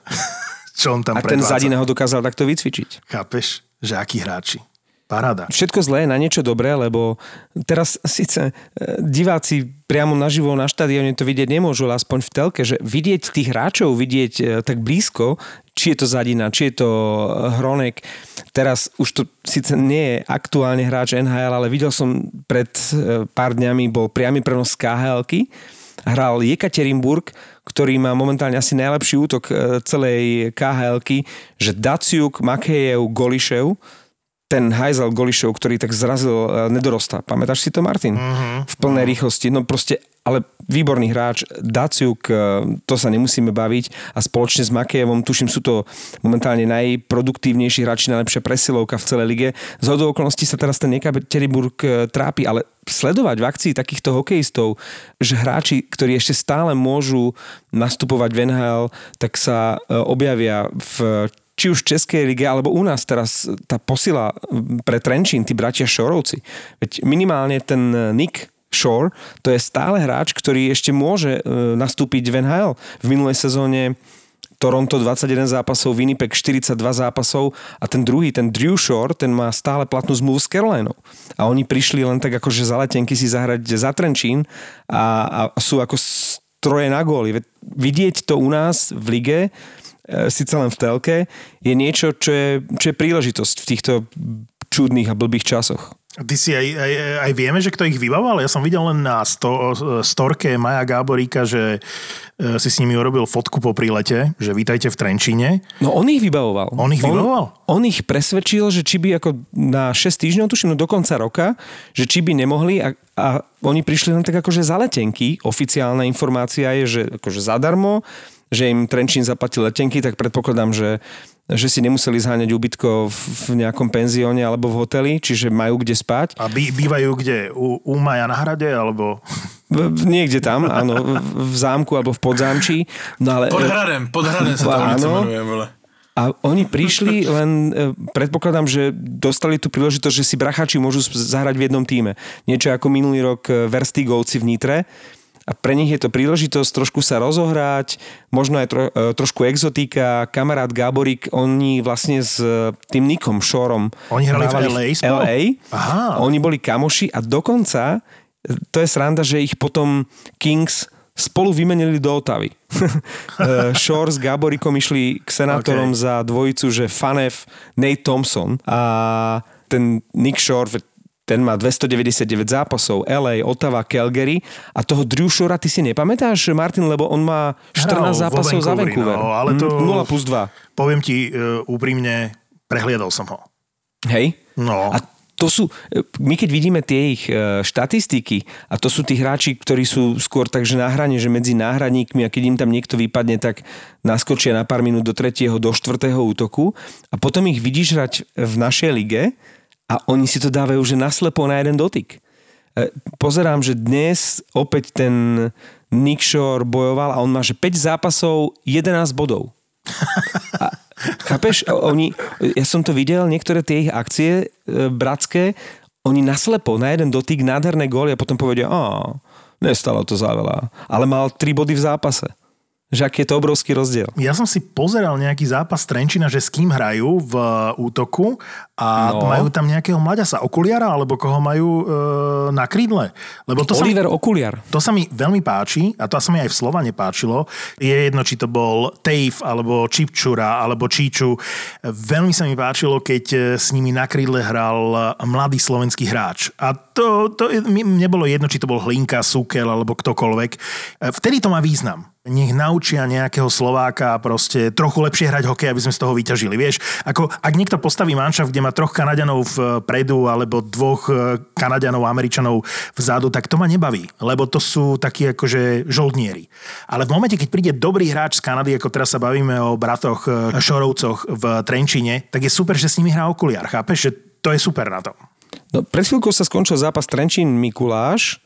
Čo on tam predvádza. A ten Zadina ho dokázal takto vycvičiť. Chápeš? Že akí hráči. Paráda. Všetko zlé na niečo dobré, lebo teraz síce diváci priamo naživo na štadióne to vidieť nemôžu, ale aspoň v telke, že vidieť tých hráčov, vidieť tak blízko, či je to Zadina, či je to Hronek. Teraz už to síce nie je aktuálne hráč NHL, ale videl som pred pár dňami, bol priamy prenos z KHL-ky. Hral Jekaterinburg, ktorý má momentálne asi najlepší útok celej KHL-ky, že Daciuk, Makejev, Golišev, ten hajzel Golišev, ktorý tak zrazil nedorosta. Pamätáš si to, Martin? V plnej rýchlosti. No proste, ale výborný hráč. Daciuk, to sa nemusíme baviť. A spoločne s Makejevom, tuším, sú to momentálne najproduktívnejší hráči, najlepšia presilovka v celej lige. Z hodou okolností sa teraz ten Jekaterinburg trápi, ale sledovať v akcii takýchto hokejistov, že hráči, ktorí ešte stále môžu nastupovať v NHL, tak sa objavia či už v Českej lige, alebo u nás teraz tá posila pre Trenčín, tí bratia Šorovci. Veď minimálne ten Nick Shore, to je stále hráč, ktorý ešte môže nastúpiť v NHL. V minulej sezóne Toronto 21 zápasov, Winnipeg 42 zápasov a ten druhý, ten Drew Shore, ten má stále platnú zmluvu s Carolinou. A oni prišli len tak akože za letenky si zahrať za Trenčín a sú ako stroje na góly. Vidieť to u nás v lige, síce len v telke, je niečo, čo je príležitosť v týchto čudných a blbých časoch. Ty si aj vieme, že kto ich vybavoval? Ja som videl len na storke Maja Gáboríka, že si s nimi urobil fotku po prílete, že vítajte v Trenčíne. No on ich vybavoval. On ich presvedčil, že či by ako na 6 týždňov, tuším, do konca roka, že či by nemohli a oni prišli len tak akože za letenky. Oficiálna informácia je, že akože zadarmo, že im Trenčín zaplatil letenky, tak predpokladám, že že si nemuseli zháňať ubytko v nejakom penzióne alebo v hoteli, čiže majú kde spať. A bývajú kde? U Maja na hrade, alebo... Niekde tam, áno, v zámku alebo v podzámčí. No ale, pod hradem sa to ulica menuje, vole. A oni prišli, len predpokladám, že dostali tú príležitosť, že si bracháči môžu zahrať v jednom tíme. Niečo ako minulý rok Verstigovci v Nitre. A pre nich je to príležitosť trošku sa rozohrať, možno aj trošku exotika. Kamarát Gáborík, oni vlastne s tým Nickom Shoreom oni hrali v LA. Aha. Oni boli kamoši a dokonca, to je sranda, že ich potom Kings spolu vymenili do Ottavy. Shore s Gáboríkom išli k senátorom za dvojicu, že Fanev, Nate Thompson a ten Nick Shore, ten má 299 zápasov, LA, Ottawa, Calgary a toho Drew Shora ty si nepamätáš, Martin, lebo on má 14 zápasov za Vancouver. No, ale to 0+2. Poviem ti úprimne, prehliadol som ho. Hej? No. A to sú, my keď vidíme tie ich štatistiky a to sú tí hráči, ktorí sú skôr takže na hrane, že medzi náhradníkmi a keď im tam niekto vypadne, tak naskočia na pár minút do 3., do 4. útoku a potom ich vidíš hrať v našej lige a oni si to dávajú že naslepo na jeden dotyk. Pozerám, že dnes opäť ten Nick Shore bojoval a on má že 5 zápasov, 11 bodov. A chápeš? Ja som to videl, niektoré tie ich akcie bratské, oni naslepo na jeden dotyk nádherné góly a potom povedia, nestalo to za veľa. Ale mal 3 body v zápase. Že aký je to obrovský rozdiel. Ja som si pozeral nejaký zápas Trenčína, že s kým hrajú v útoku a majú tam nejakého mlaďasa, Okuliara, alebo koho majú na krídle. Lebo to Oliver Okuliar. To sa mi veľmi páči a to sa mi aj v Slovane páčilo. Je jedno, či to bol Tejf, alebo Čipčura, alebo Číču. Veľmi sa mi páčilo, keď s nimi na krídle hral mladý slovenský hráč. A to mne bolo jedno, či to bol Hlinka, Sukel, alebo ktokoľvek. Vtedy to má význam. Nech naučia nejakého Slováka proste trochu lepšie hrať hokej, aby sme z toho vyťažili. Vieš, ako ak niekto postaví manšaft, kde má 3 Kanaďanov vpredu alebo 2 Kanaďanov, Američanov vzadu, tak to ma nebaví, lebo to sú takí akože žoldnieri. Ale v momente, keď príde dobrý hráč z Kanady, ako teraz sa bavíme o bratoch Šorovcoch v Trenčíne, tak je super, že s nimi hrá Okuliar. Chápeš, že to je super na tom. No, pred chvíľkou sa skončil zápas Trenčín-Mikuláš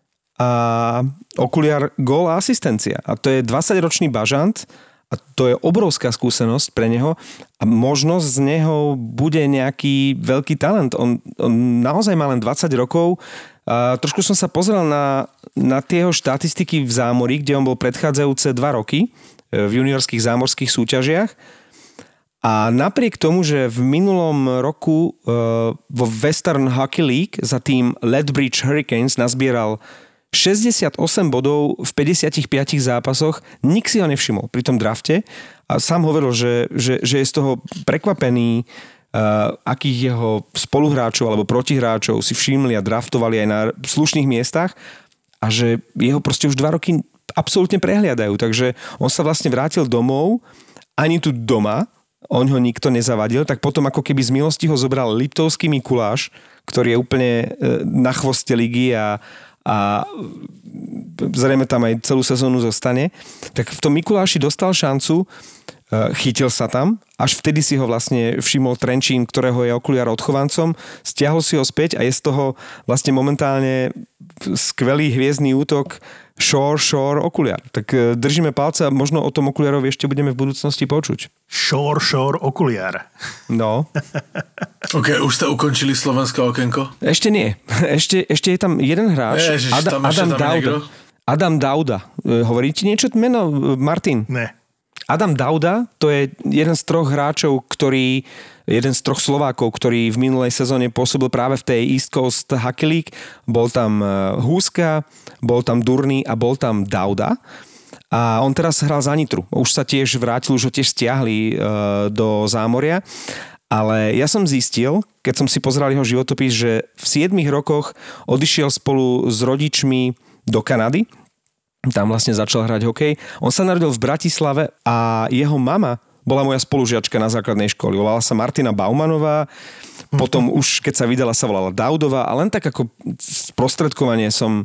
a Okuliar gól a asistencia. A to je 20-ročný bažant a to je obrovská skúsenosť pre neho a možno z neho bude nejaký veľký talent. On naozaj má len 20 rokov. A trošku som sa pozrel na tie jeho štatistiky v Zámorí, kde on bol predchádzajúce 2 roky v juniorských zámorských súťažiach. A napriek tomu, že v minulom roku vo Western Hockey League za tým Lethbridge Hurricanes nazbieral 68 bodov v 55 zápasoch, nik si ho nevšimol pri tom drafte a sám hovoril, že je z toho prekvapený, akých jeho spoluhráčov alebo protihráčov si všimli a draftovali aj na slušných miestach a že jeho proste už 2 roky absolútne prehliadajú. Takže on sa vlastne vrátil domov, ani tu doma, on ho nikto nezavadil, tak potom ako keby z milosti ho zobral Liptovský Mikuláš, ktorý je úplne na chvoste ligy a zrejme tam aj celú sezónu zostane, tak v tom Mikuláši dostal šancu, chytil sa tam, až vtedy si ho vlastne všimol Trenčín, ktorého je Okuliar odchovancom, stiahol si ho späť a je z toho vlastne momentálne skvelý hviezdny útok Shore, Okuliar. Tak držíme palce a možno o tom Okuliarovi ešte budeme v budúcnosti počuť. Shore, Okuliar. No. OK, už ste ukončili slovenské okienko? Ešte nie. Ešte je tam jeden hráč. Ježiš, Adam Dauda. Hovorí ti niečo meno, Martin? Ne. Adam Dauda, to je jeden z 3 hráčov, jeden z 3 Slovákov, ktorý v minulej sezóne pôsobil práve v tej East Coast Hockey League. Bol tam Húska, bol tam Durný a bol tam Dauda. A on teraz hral za Nitru. Už sa tiež vrátil, už ho tiež stiahli do Zámoria. Ale ja som zistil, keď som si pozeral jeho životopis, že v 7 rokoch odišiel spolu s rodičmi do Kanady. Tam vlastne začal hrať hokej. On sa narodil v Bratislave a jeho mama bola moja spolužiačka na základnej škole. Volala sa Martina Baumanová, potom už keď sa vydala, sa volala Daudová a len tak ako sprostredkovanie som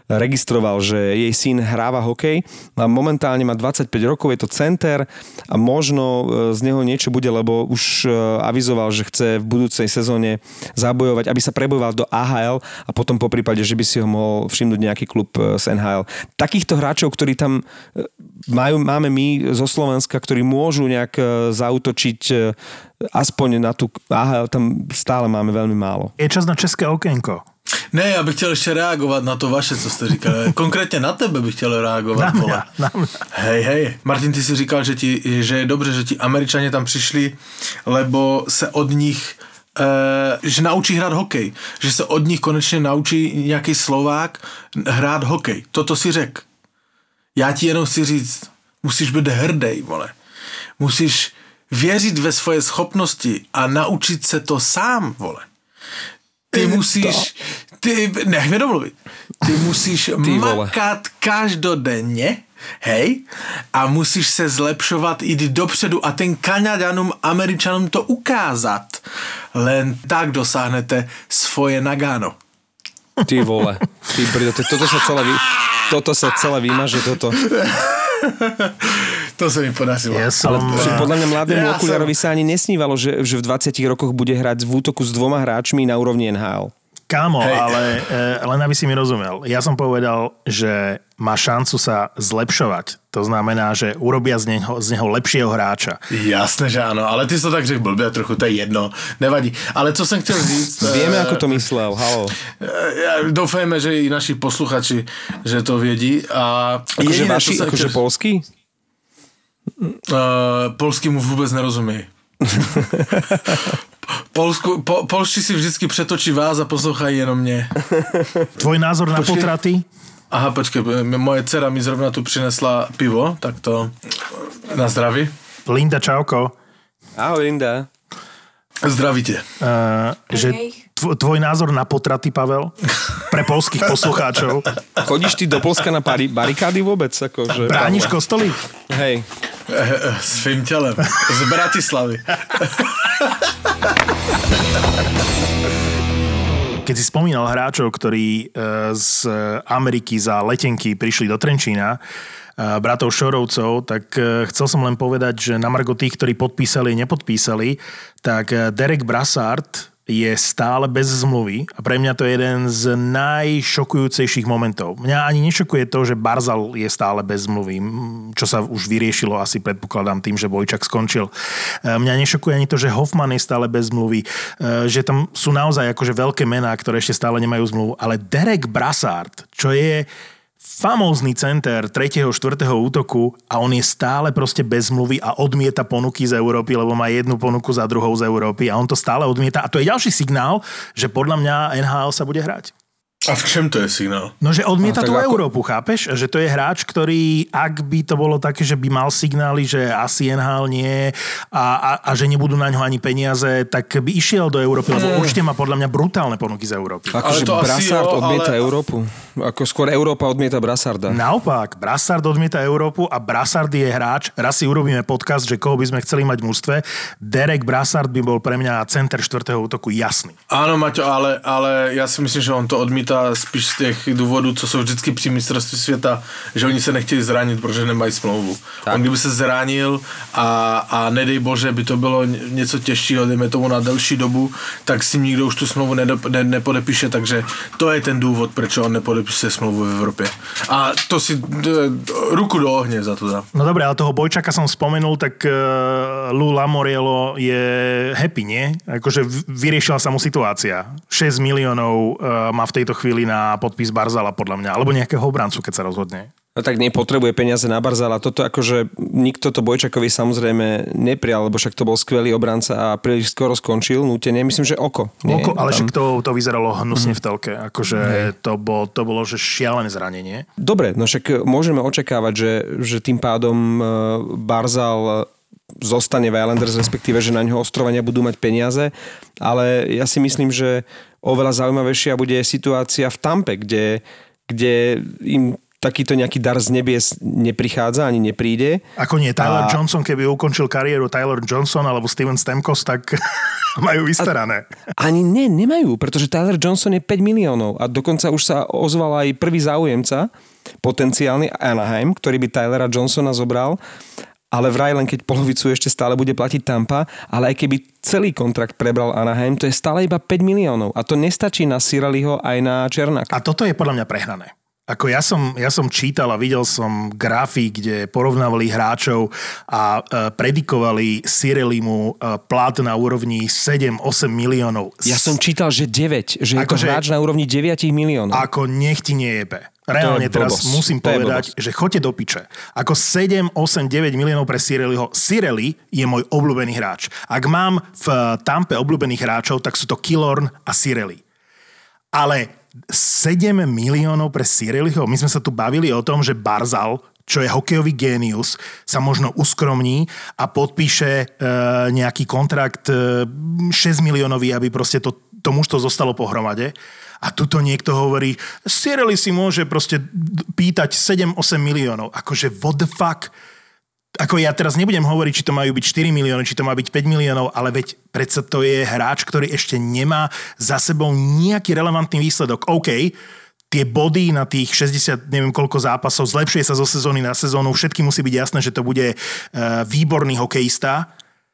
registroval, že jej syn hráva hokej a momentálne má 25 rokov, je to center a možno z neho niečo bude, lebo už avizoval, že chce v budúcej sezóne zabojovať, aby sa prebojoval do AHL a potom po prípade, že by si ho mohol všimnúť nejaký klub z NHL. Takýchto hráčov, ktorí tam máme my zo Slovenska, ktorí môžu nejak zaútočiť aspoň na tú AHL, tam stále máme veľmi málo. Je čas na české okénko. Ne, já bych chtěl ještě reagovat na to vaše, co jste říkali. Konkrétně na tebe bych chtěl reagovat. Na mě. Hej. Martin, ty si říkal, že je dobře, že ti Američani tam přišli, lebo se od nich že naučí hrát hokej. Že se od nich konečně naučí nějaký Slovák hrát hokej. Toto si řek. Já ti jenom chci říct, musíš být hrdej, vole. Musíš věřit ve svoje schopnosti a naučit se to sám, vole. Ty musíš, nech mi domluvit, ty musíš makat každodenně, hej, a musíš se zlepšovat, jít dopředu a ten Kanaďanům, Američanům to ukázat. Len tak dosáhnete svoje Nagano. Ty vole, toto sa celé vymaže, toto. To sa mi podařilo. Ale podľa mňa mladému okuliarovi sa ani nesnívalo, že v 20 rokoch bude hrať v útoku s 2 hráčmi na úrovni NHL. Kámo, ale len aby si mi rozumel. Ja som povedal, že má šancu sa zlepšovať. To znamená, že urobia z neho lepšieho hráča. Jasné, že áno, ale ty si to tak řekl blbě trochu, to je jedno, nevadí. Ale co som chcel říct... Vieme, ako to myslel, halo. Doufajme, že i naši posluchači, že to vědí. Akože vaši, akože polský? Polský mu vůbec nerozumí. Polští si vždycky přetočí vás a poslouchají jenom mě. Tvoj názor na potraty? Aha, počkej, moje dcera mi zrovna tu přinesla pivo, tak to na zdraví. Linda, čauko. Ahoj, Linda. Zdraví tě. Že tvoj názor na potraty, Pavel? Pre polských poslucháčov. Chodíš ty do Polska na barikády vôbec? Akože, brániš kostoly? Hej. Svým tělem. Z Bratislavy. Keď si spomínal hráčov, ktorí z Ameriky za letenky prišli do Trenčína, bratov Šorovcov, tak chcel som len povedať, že na margo tých, ktorí podpísali a nepodpísali, tak Derek Brassard je stále bez zmluvy a pre mňa to je jeden z najšokujúcejších momentov. Mňa ani nešokuje to, že Barzal je stále bez zmluvy, čo sa už vyriešilo asi predpokladám tým, že Vojčak skončil. Mňa nešokuje ani to, že Hoffman je stále bez zmluvy, že tam sú naozaj akože veľké mená, ktoré ešte stále nemajú zmluvu, ale Derek Brassard, čo je famózny center 3. 4. útoku a on je stále proste bez zmluvy a odmieta ponuky z Európy, lebo má jednu ponuku za druhou z Európy a on to stále odmieta. A to je ďalší signál, že podľa mňa NHL sa bude hrať. A v čem to je signál? No, že odmieta tú Európu, chápeš? Že to je hráč, ktorý, ak by to bolo také, že by mal signály, že asi NHL nie a že nebudú na ňo ani peniaze, tak by išiel do Európy, lebo určite má podľa mňa brutálne ponuky z Európy. Akože Brassard odmieta Európu? Ako skôr Európa odmieta Brassarda? Naopak, Brassard odmieta Európu a Brassard je hráč. Raz si urobíme podcast, že koho by sme chceli mať v mužstve. Derek Brassard by bol pre mňa center 4. útoku jasný. Áno, Maťo, ale ja si myslím, že on to odmítá spíš z těch důvodů, co jsou vždycky při mistrovství světa, že oni se nechtějí zranit, protože nemají smlouvu. Tak. On kdyby se zranil a nedej bože, by to bylo něco těžšího, dejme tomu na delší dobu, tak si nikdo už tu smlouvu nepodepíše, takže to je ten důvod, proč on nepodepíše smlouvu v Evropě. A to si ruku do ohně za to dá. No dobré, ale toho Bojčaka som spomenul, tak Lou Lamoriello je happy, nie? Akože vyriešila sa mu situácia. 6 miliónov má v tejto chvíli na podpis Barzala podľa mňa, alebo nejakého obrancu, keď sa rozhodne. No tak nepotrebuje peniaze na Barzala. Toto akože nikto to Bojčakovi samozrejme neprial, lebo však to bol skvelý obranca a príliš skoro skončil nútene. Myslím, že oko. Oko, ale však to vyzeralo hnusne v telke. Akože to bolo že šialené zranenie. Dobre, no však môžeme očakávať, že tým pádom Barzal zostane v Islanders, respektíve, že na ňo ostrovania budú mať peniaze, ale ja si myslím, že oveľa zaujímavejšia bude situácia v Tampe, kde im takýto nejaký dar z nebies neprichádza, ani nepríde. Ako nie, Tyler Johnson, keby ukončil kariéru Tyler Johnson alebo Steven Stamkos, tak majú vystarané. Ani nemajú, pretože Tyler Johnson je 5 miliónov a dokonca už sa ozval aj prvý záujemca, potenciálny Anaheim, ktorý by Tylera Johnsona zobral, ale vraj len keď polovicu ešte stále bude platiť Tampa, ale aj keby celý kontrakt prebral Anaheim, to je stále iba 5 miliónov a to nestačí na Cirelliho aj na Černáka. A toto je podľa mňa prehnané. Ako ja som čítal a videl som grafy, kde porovnávali hráčov a predikovali Cirellimu plat na úrovni 7-8 miliónov. Ja som čítal, že 9, že je to hráč na úrovni 9 miliónov. Ako nech ti nejebe. Reálne teraz musím povedať, že choďte do piče. Ako 7, 8, 9 miliónov pre Cirelliho. Cirelli je môj obľúbený hráč. Ak mám v Tampe obľúbených hráčov, tak sú to Killorn a Cirelli. Ale 7 miliónov pre Cirelliho. My sme sa tu bavili o tom, že Barzal, čo je hokejový génius, sa možno uskromní a podpíše nejaký kontrakt 6 miliónový, aby proste to mužstvo zostalo pohromade. A tuto niekto hovorí, Cirelli si môže proste pýtať 7-8 miliónov. Akože what the fuck? Ako ja teraz nebudem hovoriť, či to majú byť 4 milióny, či to má byť 5 miliónov, ale veď predsa to je hráč, ktorý ešte nemá za sebou nejaký relevantný výsledok. OK, tie body na tých 60, neviem koľko zápasov, zlepšuje sa zo sezóny na sezónu, všetky musí byť jasné, že to bude výborný hokejista,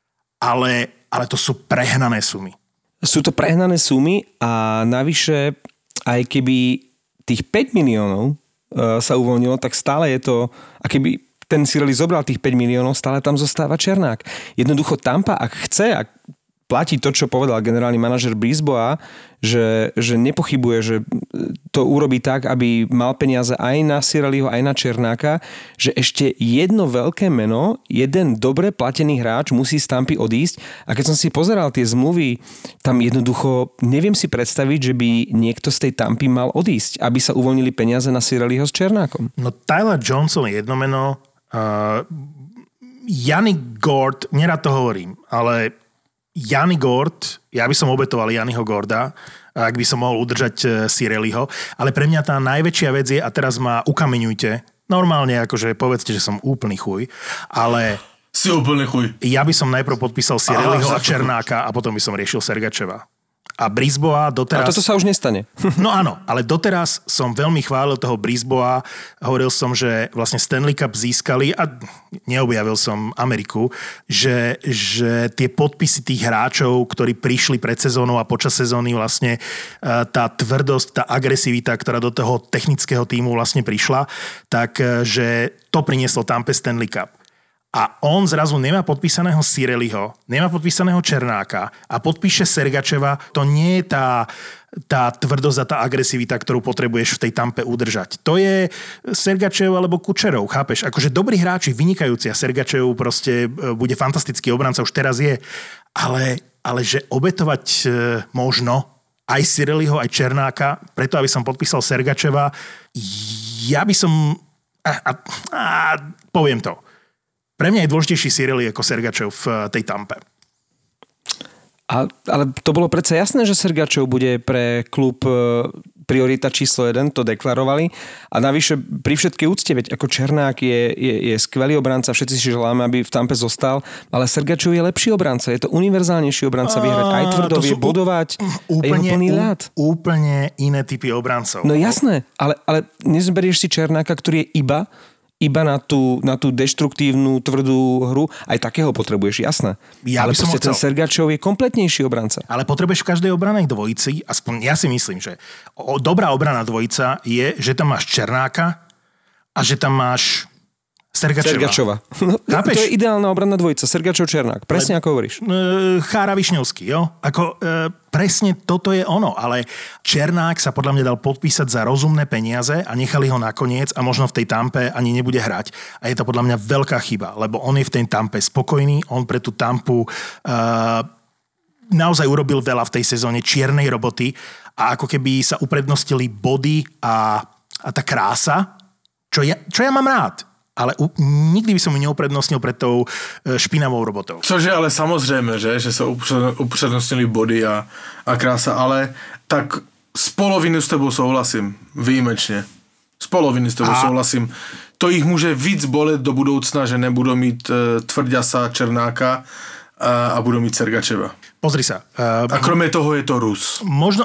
ale to sú prehnané sumy. Sú to prehnané sumy a navyše, aj keby tých 5 miliónov sa uvoľnilo, tak stále je to, a keby ten Cirelli zobral tých 5 miliónov, stále tam zostáva Černák. Jednoducho Tampa, ak chce, ak platí to, čo povedal generálny manažer Brisboa, že nepochybuje, že to urobí tak, aby mal peniaze aj na Cirelliho, aj na Černáka, že ešte jedno veľké meno, jeden dobre platený hráč musí z Tampy odísť. A keď som si pozeral tie zmluvy, tam jednoducho neviem si predstaviť, že by niekto z tej Tampy mal odísť, aby sa uvoľnili peniaze na Cirelliho s Černákom. No Tyler Johnson je jedno meno, Yanni Gourde, nerad to hovorím, ale Yanni Gourde, ja by som obetoval Yanniho Gourda, ak by som mohol udržať Cirelliho, ale pre mňa tá najväčšia vec je, a teraz ma ukameňujte, normálne akože povedzte, že som úplný chuj, ale si úplný chuj. Ja by som najprv podpísal Cirelliho a Černáka a potom by som riešil Sergačeva. A Brisboa doteraz... A toto sa už nestane. No áno, ale doteraz som veľmi chválil toho Brisboa. Hovoril som, že vlastne Stanley Cup získali a neobjavil som Ameriku, že tie podpisy tých hráčov, ktorí prišli pred sezónou a počas sezóny vlastne tá tvrdosť, tá agresivita, ktorá do toho technického tímu vlastne prišla, tak že to prinieslo Tampe Stanley Cup. A on zrazu nemá podpísaného Cirelliho, nemá podpísaného Černáka a podpíše Sergačeva. To nie je tá tvrdosť a tá agresivita, ktorú potrebuješ v tej Tampe udržať. To je Sergačev alebo Kučerov, chápeš? Akože dobrí hráči, vynikajúci a Sergačev proste bude fantastický obranca, už teraz je. Ale že obetovať možno aj Cirelliho, aj Černáka, preto aby som podpísal Sergačeva, ja by som... poviem to. Pre mňa je dôležitejší Cirelli ako Sergačev v tej Tampe. Ale to bolo predsa jasné, že Sergačev bude pre klub priorita číslo 1, to deklarovali. A navyše pri všetkej úcte, veď ako Černák je skvelý obranca, všetci si želáme, aby v Tampe zostal, ale Sergačev je lepší obranca, je to univerzálnejší obranca, vyhrať aj tvrdo, vie bodovať, úplne, je plný ľad. Úplne iné typy obrancov. No jasné, ale nezberieš si Černáka, ktorý je iba na tú deštruktívnu, tvrdú hru. Aj takého potrebuješ, jasné. Ale proste ten Sergačov je kompletnejší obranca. Ale potrebuješ v každej obranej dvojici, aspoň ja si myslím, že dobrá obrana dvojica je, že tam máš Černáka a že tam máš Sergačova. No, to je ideálna obranná dvojica. Sergačov-Černák. Presne ako hovoríš. Chára Višňovský, jo? Presne toto je ono, ale Černák sa podľa mňa dal podpísať za rozumné peniaze a nechali ho nakoniec a možno v tej Tampe ani nebude hrať. A je to podľa mňa veľká chyba, lebo on je v tej Tampe spokojný, on pre tú Tampu naozaj urobil veľa v tej sezóne čiernej roboty a ako keby sa uprednostili body a tá krása, čo ja mám rád. Ale nikdy by som ju neuprednostnil pred tou špinavou robotou. Což je ale samozrejme, že sa uprednostnili body a krása, ale tak z poloviny s tebou souhlasím, výjimečne. Z poloviny s tebou souhlasím. To ich může víc bolet do budoucna, že nebudou mít Tvrďasa, Černáka a budú mít Sergačeva. Pozri sa. A kromě toho je to Rus. Možno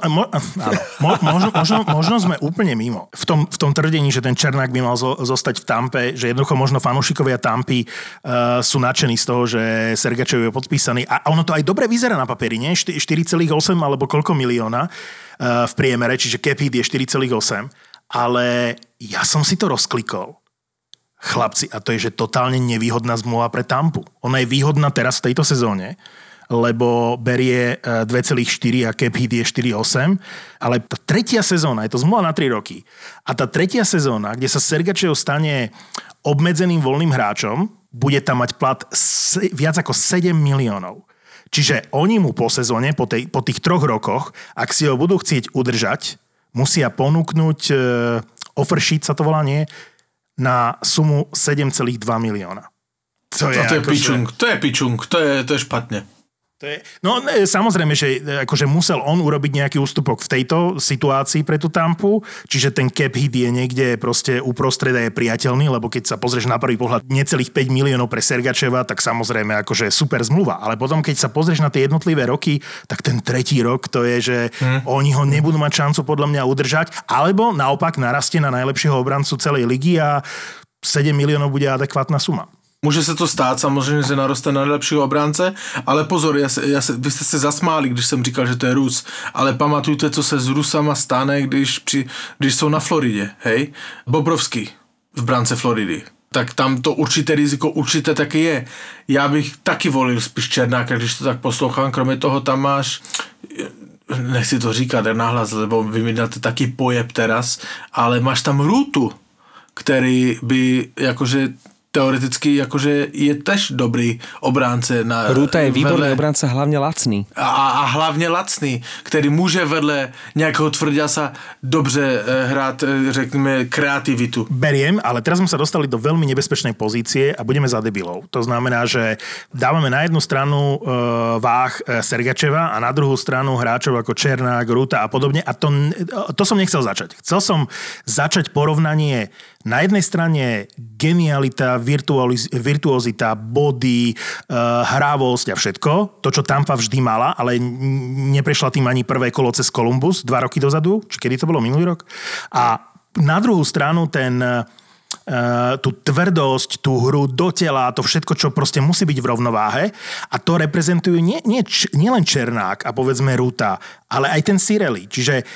sme úplne mimo. V tom tvrdení, že ten Černák by mal zostať v Tampe, že jednoducho možno fanúšikovia Tampy sú nadšení z toho, že Sergačev je podpísaný. A ono to aj dobre vyzerá na papieri, nie? 4,8 alebo koľko milióna v priemere, čiže cap hit je 4,8. Ale ja som si to rozklikol. Chlapci, a to je, že totálne nevýhodná zmluva pre Tampu. Ona je výhodná teraz v tejto sezóne, lebo berie 2,4 a cap hit je 4,8, ale tá tretia sezóna, je to zmluva na 3 roky, a tá tretia sezóna, kde sa Sergačev stane obmedzeným voľným hráčom, bude tam mať plat viac ako 7 miliónov. Čiže oni mu po sezóne, po tých 3 rokoch, ak si ho budú chcieť udržať, musia ponúknuť offer sheet, sa to volá, nie? Na sumu 7,2 milióna. To je pičung, to je špatne. Samozrejme, že akože musel on urobiť nejaký ústupok v tejto situácii pre tú Tampu, čiže ten cap hit je niekde proste uprostred a je priateľný, lebo keď sa pozrieš na prvý pohľad necelých 5 miliónov pre Sergačeva, tak samozrejme akože super zmluva, ale potom keď sa pozrieš na tie jednotlivé roky, tak ten tretí rok to je, že oni ho nebudú mať šancu podľa mňa udržať, alebo naopak narastie na najlepšieho obrancu celej ligy a 7 miliónov bude adekvátna suma. Může se to stát, samozřejmě, že naroste na nejlepšího obránce, ale pozor, vy jste se zasmáli, když jsem říkal, že to je Rus, ale pamatujte, co se s Rusama stane, když jsou na Floridě, hej? Bobrovský v brance Floridy. Tak tam to určité riziko určitě taky je. Já bych taky volil spíš Černáka, když to tak poslouchám, kromě toho tam máš, nechci to říkat nahlas, lebo vy mi dáte taký pojeb teraz, ale máš tam Rútu, který by jakože teoreticky akože je tež dobrý obránce. Rúta je výborný obránca, hlavne lacný. A hlavne lacný, ktorý môže vedle nejakého Tvrďasa dobře hrať, řekneme, kreativitu. Beriem, ale teraz sme sa dostali do veľmi nebezpečnej pozície a budeme za debilov. To znamená, že dávame na jednu stranu váh Sergačeva a na druhú stranu hráčov ako Černák, Rúta a podobne. A to som nechcel začať. Chcel som začať porovnanie na jednej strane genialita, virtuozita, body, hrávosť a všetko. To, čo Tampa vždy mala, ale neprešla tým ani prvé kolo cez Columbus 2 roky dozadu, či kedy to bolo, minulý rok. A na druhú stranu tú tvrdosť, tú hru do tela, to všetko, čo proste musí byť v rovnováhe. A to reprezentujú nie len Černák a povedzme Rúta, ale aj ten Cirelli. Čiže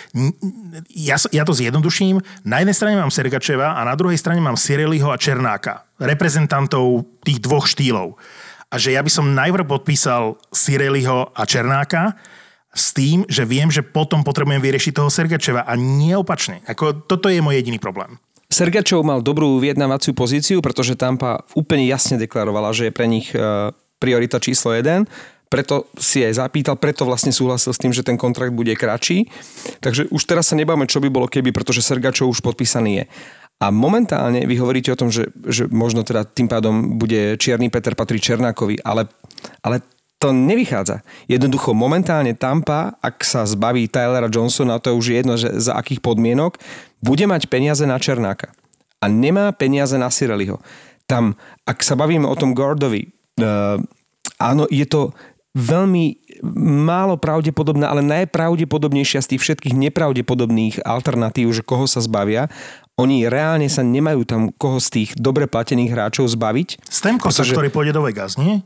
ja to zjednoduším. Na jednej strane mám Sergačeva a na druhej strane mám Cirelliho a Černáka. Reprezentantov tých dvoch štýlov. A že ja by som najprv podpísal Cirelliho a Černáka s tým, že viem, že potom potrebujem vyriešiť toho Sergačeva a nie opačne. Toto je môj jediný problém. Sergačov mal dobrú vyjednávaciu pozíciu, pretože Tampa úplne jasne deklarovala, že je pre nich priorita číslo 1. Preto si aj zapýtal, preto vlastne súhlasil s tým, že ten kontrakt bude kratší. Takže už teraz sa nebáme, čo by bolo keby, pretože Sergačov už podpísaný je. A momentálne vy hovoríte o tom, že možno teda tým pádom bude Čierny Peter patrí Černákovi, ale to nevychádza. Jednoducho momentálne Tampa, ak sa zbaví Tylera Johnsona, to už je jedno, že za akých podmienok, bude mať peniaze na Černáka. A nemá peniaze na Cirelliho. Tam, ak sa bavíme o tom Gordovi, áno, je to veľmi málo pravdepodobné, ale najpravdepodobnejšia z tých všetkých nepravdepodobných alternatív, že koho sa zbavia. Oni reálne sa nemajú tam koho z tých dobre platených hráčov zbaviť. Stamkosa, ktorý pôjde do Vegas, nie?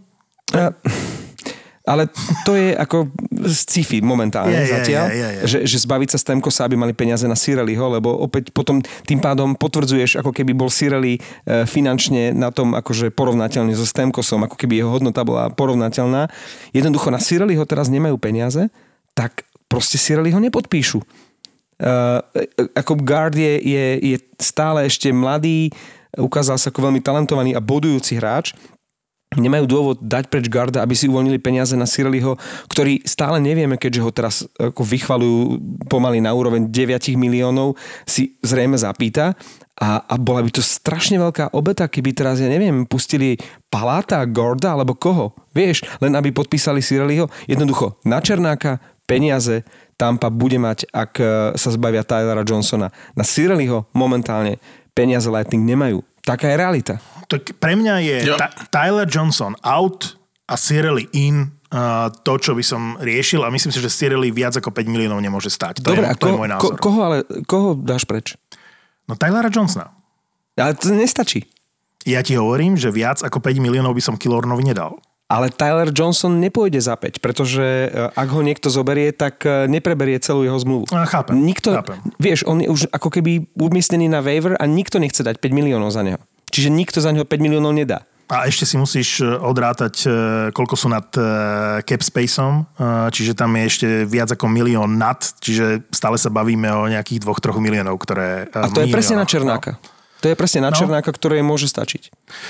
Ale to je ako sci-fi momentálne zatiaľ, že zbaviť sa Stamkosa, aby mali peniaze na Cirelliho, lebo opäť potom tým pádom potvrdzuješ, ako keby bol Cirelli finančne na tom akože porovnateľný so Stamkosom, ako keby jeho hodnota bola porovnateľná. Jednoducho na Cirelliho teraz nemajú peniaze, tak proste Cirelliho nepodpíšu. Ako Guard je stále ešte mladý, ukázal sa ako veľmi talentovaný a bodujúci hráč. Nemajú dôvod dať preč Garda, aby si uvoľnili peniaze na Cirelliho, ktorý stále nevieme, keďže ho teraz ako vychvalujú pomaly na úroveň 9 miliónov, si zrejme zapýta. A bola by to strašne veľká obeta, keby teraz, ja neviem, pustili Paláta, Gorda alebo koho. Vieš, len aby podpísali Cirelliho. Jednoducho na Černáka peniaze Tampa bude mať, ak sa zbavia Tylera Johnsona. Na Cirelliho momentálne peniaze Lightning nemajú. Taká je realita. Tak pre mňa je Tyler Johnson out a Cirelli in to, čo by som riešil a myslím si, že Cirelli viac ako 5 miliónov nemôže stať. Dobre, to je môj názor. Koho dáš preč? No Tylera Johnsona. Ale to nestačí. Ja ti hovorím, že viac ako 5 miliónov by som Killornovi nedal. Ale Tyler Johnson nepôjde za 5, pretože ak ho niekto zoberie, tak nepreberie celú jeho zmluvu. Chápem. Vieš, on je už ako keby umiestnený na waiver a nikto nechce dať 5 miliónov za neho. Čiže nikto za neho 5 miliónov nedá. A ešte si musíš odrátať, koľko sú nad cap spaceom, čiže tam je ešte viac ako 1 milión nad, čiže stále sa bavíme o nejakých 2-3 miliónov, ktoré... A to je presne na Černáka. No. To je presne na Černáka, ktoré môže stačiť.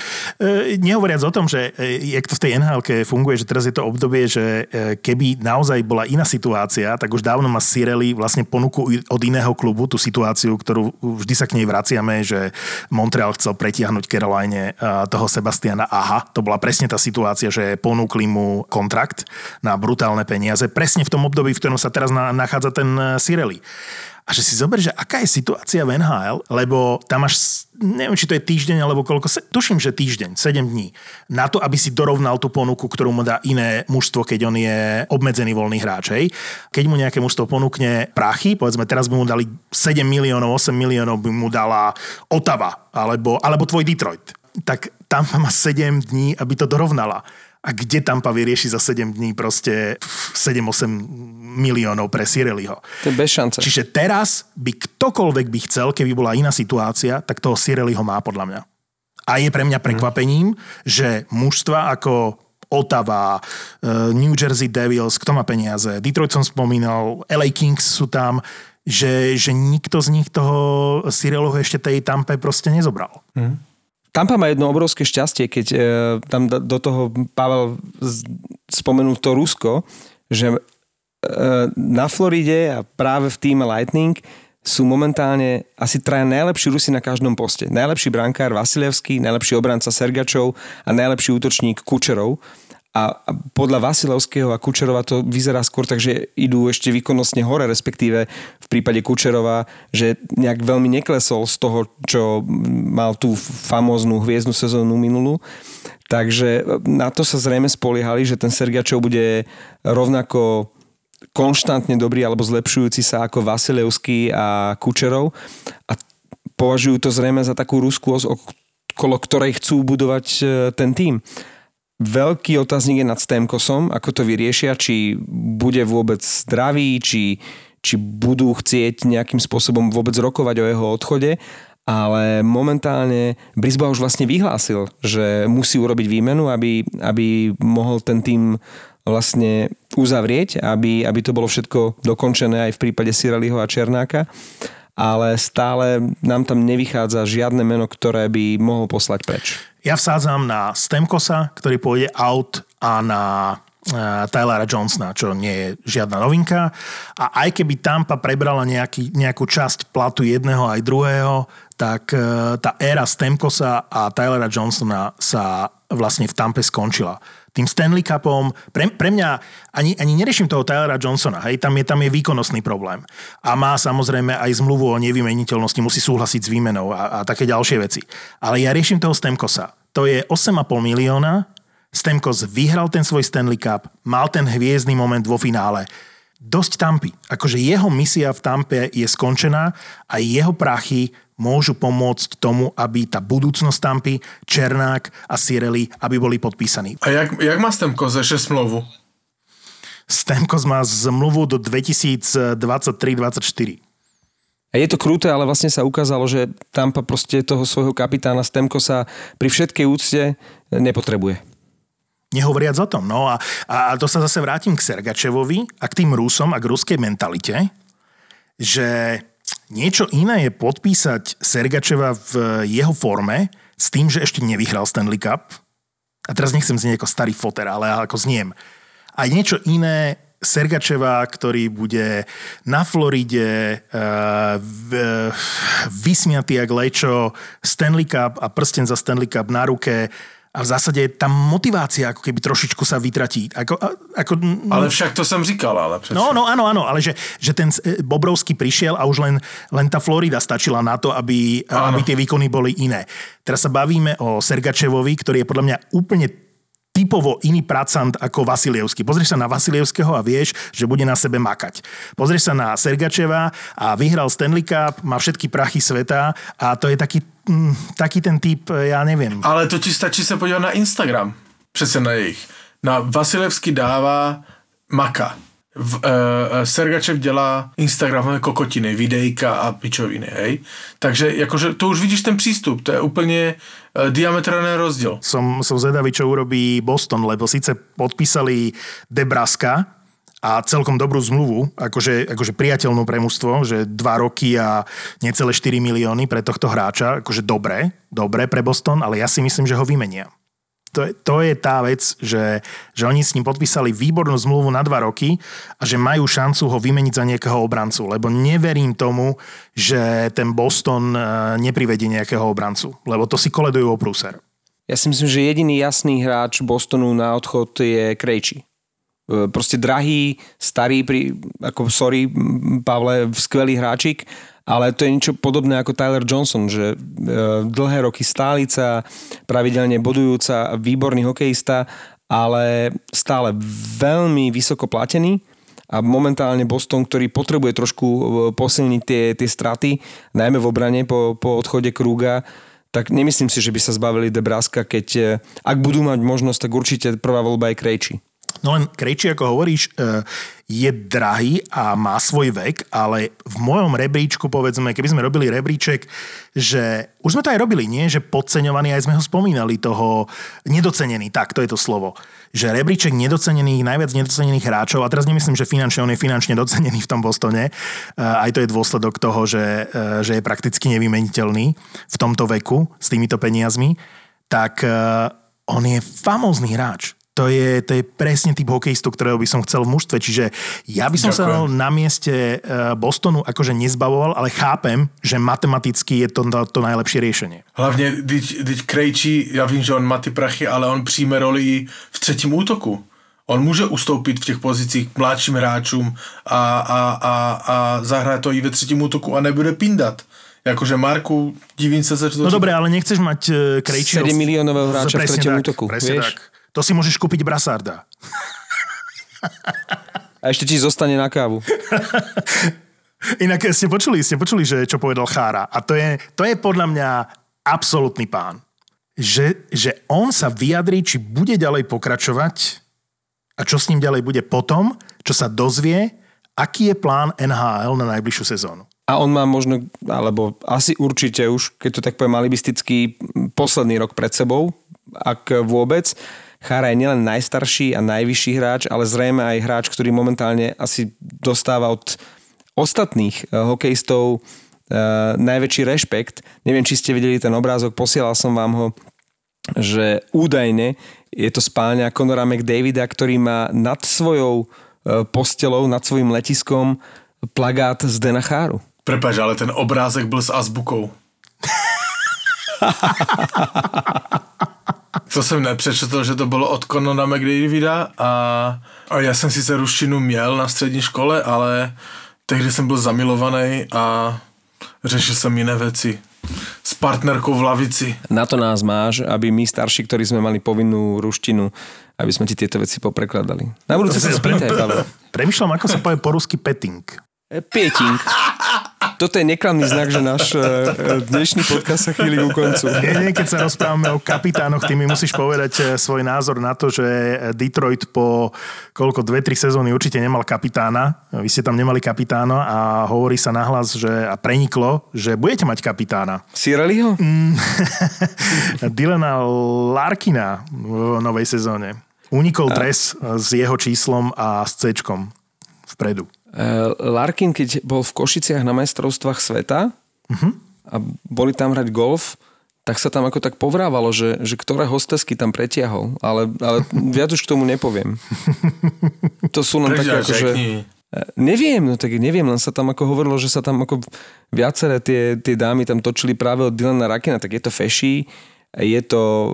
Nehovoriac o tom, že jak to v tej NHL-ke funguje, že teraz je to obdobie, že keby naozaj bola iná situácia, tak už dávno má Cirelli vlastne ponuku od iného klubu, tú situáciu, ktorú vždy sa k nej vraciame, že Montreal chcel pretiahnuť Caroline toho Sebastiana Aha. To bola presne tá situácia, že ponúkli mu kontrakt na brutálne peniaze. Presne v tom období, v ktorom sa teraz nachádza ten Cirelli. A že si zober, že aká je situácia v NHL, lebo tam máš, neviem, či to je týždeň, alebo koľko, tuším, že týždeň, 7 dní, na to, aby si dorovnal tú ponuku, ktorú mu dá iné mužstvo, keď on je obmedzený voľný hráč. Hej. Keď mu nejaké mužstvo ponúkne prachy, povedzme, teraz by mu dali 7 miliónov, 8 miliónov by mu dala Ottawa, alebo tvoj Detroit. Tak tam má 7 dní, aby to dorovnala. A kde Tampa vyrieši za 7 dní proste 7-8 miliónov pre Cirelliho. To je bez šance. Čiže teraz by ktokoľvek by chcel, keby bola iná situácia, tak toho Cirelliho má podľa mňa. A je pre mňa prekvapením, že mužstva ako Ottawa, New Jersey Devils, kto má peniaze, Detroit som spomínal, LA Kings sú tam, že nikto z nich toho Cirelliho ešte tej Tampe proste nezobral. Tampa má jedno obrovské šťastie, keď tam do toho Pavel spomenul to Rusko, že na Floride a práve v týme Lightning sú momentálne asi traja najlepší Rusi na každom poste. Najlepší brankár Vasilevský, najlepší obranca Sergačov a najlepší útočník Kučerov. A podľa Vasilevského a Kučerova to vyzerá skôr tak, že idú ešte výkonnostne hore, respektíve v prípade Kučerova, že nejak veľmi neklesol z toho, čo mal tú famóznu hviezdnu sezónu minulú. Takže na to sa zrejme spoliehali, že ten Sergačov bude rovnako konštantne dobrý alebo zlepšujúci sa ako Vasilevský a Kučerov. A považujú to zrejme za takú Rusku, okolo ktorej chcú budovať ten tím. Veľký otáznik je nad Stamkosom, ako to vyriešia, či bude vôbec zdravý, či budú chcieť nejakým spôsobom vôbec rokovať o jeho odchode, ale momentálne Brisbane už vlastne vyhlásil, že musí urobiť výmenu, aby mohol ten tým vlastne uzavrieť, aby to bolo všetko dokončené aj v prípade Cirelliho a Černáka, ale stále nám tam nevychádza žiadne meno, ktoré by mohol poslať preč. Ja vsádzam na Stamkosa, ktorý pôjde out, a na Tylera Johnsona, čo nie je žiadna novinka. A aj keby Tampa prebrala nejakú časť platu jedného aj druhého, tak tá éra Stamkosa a Tylera Johnsona sa vlastne v Tampe skončila. Tým Stanley Cupom, pre mňa ani neriešim toho Tylera Johnsona, hej, tam je výkonnostný problém. A má samozrejme aj zmluvu o nevymeniteľnosti, musí súhlasiť s výmenou a také ďalšie veci. Ale ja riešim toho Stamkosa. To je 8,5 milióna, Stamkos vyhral ten svoj Stanley Cup, mal ten hviezdny moment vo finále. Dosť Tampy. Akože jeho misia v Tampe je skončená a jeho prachy môžu pomôcť tomu, aby tá budúcnosť Tampy, Černák a Cirelli, aby boli podpísaní. A jak má Stamkos ešte smlouvu? Stamkos má zmluvu do 2023-2024. A je to kruté, ale vlastne sa ukázalo, že Tampa proste toho svojho kapitána Stamkosa pri všetkej úcte nepotrebuje. Nehovoriac o tom. No a to sa zase vrátim k Sergačevovi a k tým Rusom a k ruskej mentalite, že niečo iné je podpísať Sergačeva v jeho forme s tým, že ešte nevyhral Stanley Cup. A teraz nechcem znieť ako starý foter, ale ako zniem. A niečo iné Sergačeva, ktorý bude na Floride vysmiatý jak lečo, Stanley Cup a prsten za Stanley Cup na ruke A v zásade tá motivácia ako keby trošičku sa vytratí. Ale však to som říkal, ale přece. No, áno, ale že ten Bobrovský prišiel a už len tá Florida stačila na to, aby tie výkony boli iné. Teraz sa bavíme o Sergačevovi, ktorý je podľa mňa úplne typovo iný pracant ako Vasilievský. Pozrieš sa na Vasilievského a vieš, že bude na sebe makať. Pozrieš sa na Sergačeva a vyhral Stanley Cup, má všetky prachy sveta a to je taký ten typ, ja neviem. Ale to ti stačí sa podívať na Instagram. Přece na jejich. Na Vasilievský dává maka. Sergačev dělá Instagramové kokotiny, videjka a pičoviny, hej. Takže jakože to už vidíš ten přístup, to je úplně diametrálny rozdiel. Som zvedavý, čo urobí Boston, lebo síce podpísali DeBruska a celkom dobrú zmluvu, akože priateľnú pre mužstvo, že 2 roky a necelé 4 milióny pre tohto hráča, akože dobre pre Boston, ale ja si myslím, že ho vymenia. To je tá vec, že oni s ním podpísali výbornú zmluvu na 2 roky a že majú šancu ho vymeniť za nejakého obrancu, lebo neverím tomu, že ten Boston neprivedie nejakého obrancu, lebo to si koledujú o prúser. Ja si myslím, že jediný jasný hráč Bostonu na odchod je Krejčí. Proste drahý, starý, Pavle, skvelý hráčik, ale to je niečo podobné ako Tyler Johnson, že dlhé roky stálica, pravidelne bodujúca, výborný hokejista, ale stále veľmi vysoko platený a momentálne Boston, ktorý potrebuje trošku posilniť tie straty, najmä v obrane po odchode Krúga, tak nemyslím si, že by sa zbavili DeBruska, keď ak budú mať možnosť, tak určite prvá voľba je Krejčí. No len Krejčí, ako hovoríš, je drahý a má svoj vek, ale v mojom rebríčku, povedzme, keby sme robili rebríček, že už sme to aj robili, nie? Že podceňovaný, aj sme ho spomínali, toho nedocenený, tak, to je to slovo. Že rebríček nedocenených, najviac nedocenených hráčov, a teraz nemyslím, že finančne, on je finančne docenený v tom Bostone, aj to je dôsledok toho, že je prakticky nevymeniteľný v tomto veku s týmito peniazmi, tak on je famózny hráč. To je presne typ hokejistu, ktorého by som chcel v mužstve. Čiže ja by som sa na mieste Bostonu akože nezbavoval, ale chápem, že matematicky je to najlepšie riešenie. Hlavne, když Krejčí, ja vím, že on má ty prachy, ale on přijme roli v třetím útoku. On může ustoupit v těch pozicích mladším hráčům a zahrát to i ve třetím útoku a nebude pindat. Jakože Marku, divím sa za to. No dobre, ale nechceš mať Krejčího 7 miliónového hráča v treťom útoku. Presne vieš? tak. To si môžeš kúpiť Brassarda. A ešte ti zostane na kávu. Inak ste počuli, že čo povedal Chára. A to je podľa mňa absolútny pán. Že on sa vyjadrí, či bude ďalej pokračovať a čo s ním ďalej bude potom, čo sa dozvie, aký je plán NHL na najbližšiu sezónu. A on má možno, alebo asi určite už, keď to tak poviem alibisticky, posledný rok pred sebou, ak vôbec. Chára je nielen najstarší a najvyšší hráč, ale zrejme aj hráč, ktorý momentálne asi dostáva od ostatných hokejistov najväčší rešpekt. Neviem, či ste videli ten obrázok, posielal som vám ho, že údajne je to spálňa Conora McDavida, ktorý má nad svojou postelou, nad svojím letiskom plagát z Dana Cháru. Prepáč, ale ten obrázek byl s azbukou. To jsem nepřečetl, že to bylo od Conora McDavida a já jsem sice ruštinu měl na střední škole, ale tehdy jsem byl zamilovaný a řešil jsem jiné věci. S partnerkou v lavici. Na to nás máš, aby my starší, ktorí sme mali povinnú ruštinu, aby sme ti tieto veci poprekladali. Na budúce sa spýtaj, Pavel. Premýšľam, ako sa povie po rusky petting. Pieting. Toto je neklamný znak, že náš dnešný podcast sa chýli ku koncu. Nie, keď sa rozprávame o kapitánoch, ty mi musíš povedať svoj názor na to, že Detroit po 2-3 sezóny určite nemal kapitána. Vy ste tam nemali kapitána a hovorí sa nahlas, a preniklo, že budete mať kapitána. Cirelliho? Dylana Larkina v novej sezóne. Unikol dres s jeho číslom a s C-čkom vpredu. Larkin, keď bol v Košiciach na majstrovstvách sveta a boli tam hrať golf, tak sa tam ako tak povrávalo, že ktoré hostesky tam pretiahol. Ale viac už k tomu nepoviem. To sú len také ako, že... Neviem, len sa tam ako hovorilo, že sa tam ako viaceré tie dámy tam točili práve od Dylana Larkina, tak je to feší. je to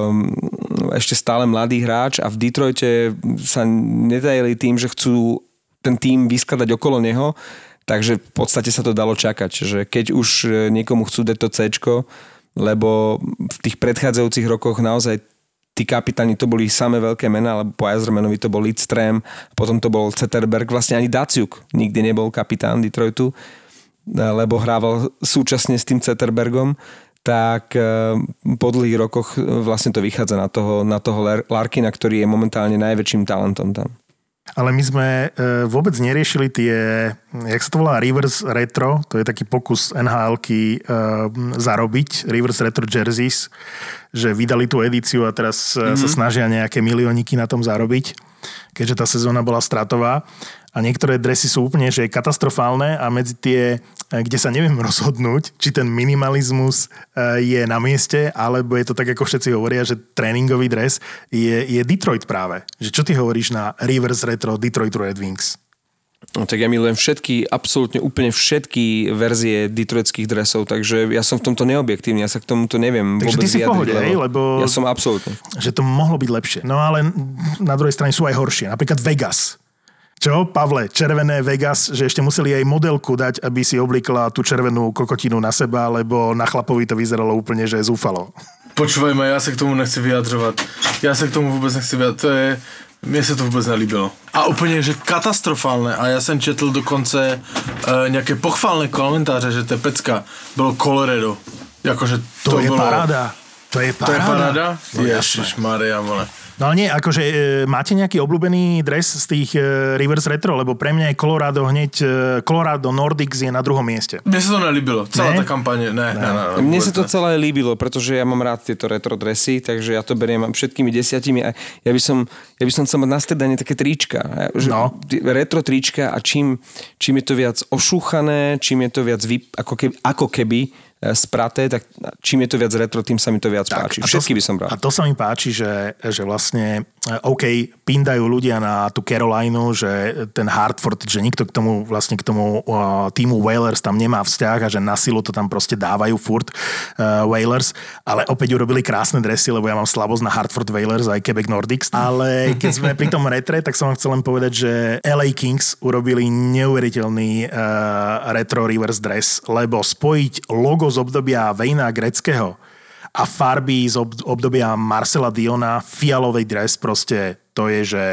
ešte stále mladý hráč a v Detroite sa netajili tým, že chcú ten tým vyskladať okolo neho, takže v podstate sa to dalo čakať, že keď už niekomu chcú dať to C-čko, lebo v tých predchádzajúcich rokoch naozaj tí kapitáni to boli samé veľké mená, lebo po Yzermanovi to bol Lidström, potom to bol Zetterberg, vlastne ani Datsyuk nikdy nebol kapitán Detroitu, lebo hrával súčasne s tým Zetterbergom, tak po dlhých rokoch vlastne to vychádza na toho Larkina, ktorý je momentálne najväčším talentom tam. Ale my sme vôbec neriešili tie, jak sa to volá, reverse retro, to je taký pokus NHL-ky zarobiť, reverse retro jerseys, že vydali tú edíciu a teraz sa snažia nejaké milióniky na tom zarobiť, keďže tá sezóna bola stratová. A niektoré dresy sú úplne že katastrofálne a medzi tie, kde sa neviem rozhodnúť, či ten minimalizmus je na mieste, alebo je to tak, ako všetci hovoria, že tréningový dres je Detroit práve. Že čo ty hovoríš na reverse retro Detroit Red Wings? No, tak ja milujem absolútne úplne všetky verzie detroitských dresov, takže ja som v tomto neobjektívny, ja sa k tomuto neviem takže vôbec vyjadriť. Takže ty si v pohode, lebo ja som absolútne. Že to mohlo byť lepšie. No ale na druhej strane sú aj horšie. Napríklad Vegas. Čo, Pavle, červené Vegas, že ešte museli aj modelku dať, aby si oblíkla tú červenú kokotinu na seba, lebo na chlapovi to vyzeralo úplne, že zúfalo. Počúvaj ma, ja sa k tomu nechci vyjadrovať. Ja sa k tomu vôbec nechci vyjadrovať. Mne sa to vôbec nelíbilo. A úplne, že katastrofálne. A ja som četl dokonce nejaké pochválne komentáře, že to je pecka. Bylo Colorado. Jakože to je bolo... paráda. To je paráda? No, Ježišmaria, vole. No ale nie, akože máte nejaký obľúbený dres z tých reverse retro, lebo pre mňa je Colorado Nordics je na druhom mieste. Mne sa to nelíbilo, celá tá kampaň, ne. Mne sa to celé líbilo, pretože ja mám rád tieto retro dresy, takže ja to beriem všetkými 10 a ja by som chcel mať na stredanie také trička. Retro trička a čím je to viac ošúchané, čím je to viac ako keby spraté, tak čím je to viac retro, tým sa mi to viac páči. Všetky by som bral. A to sa mi páči, že vlastne OK, pindajú ľudia na tú Carolinu, že ten Hartford, že nikto k tomu týmu Whalers tam nemá vzťah a že na silu to tam proste dávajú furt Whalers, ale opäť urobili krásne dresy, lebo ja mám slabosť na Hartford Whalers aj Quebec Nordics, ale keď sme pri tom retre, tak som vám chcel len povedať, že LA Kings urobili neuveriteľný retro reverse dress, lebo spojiť logo z obdobia Wayna Gretzkyho a farby z obdobia Marcela Diona, fialový dres, proste to je, že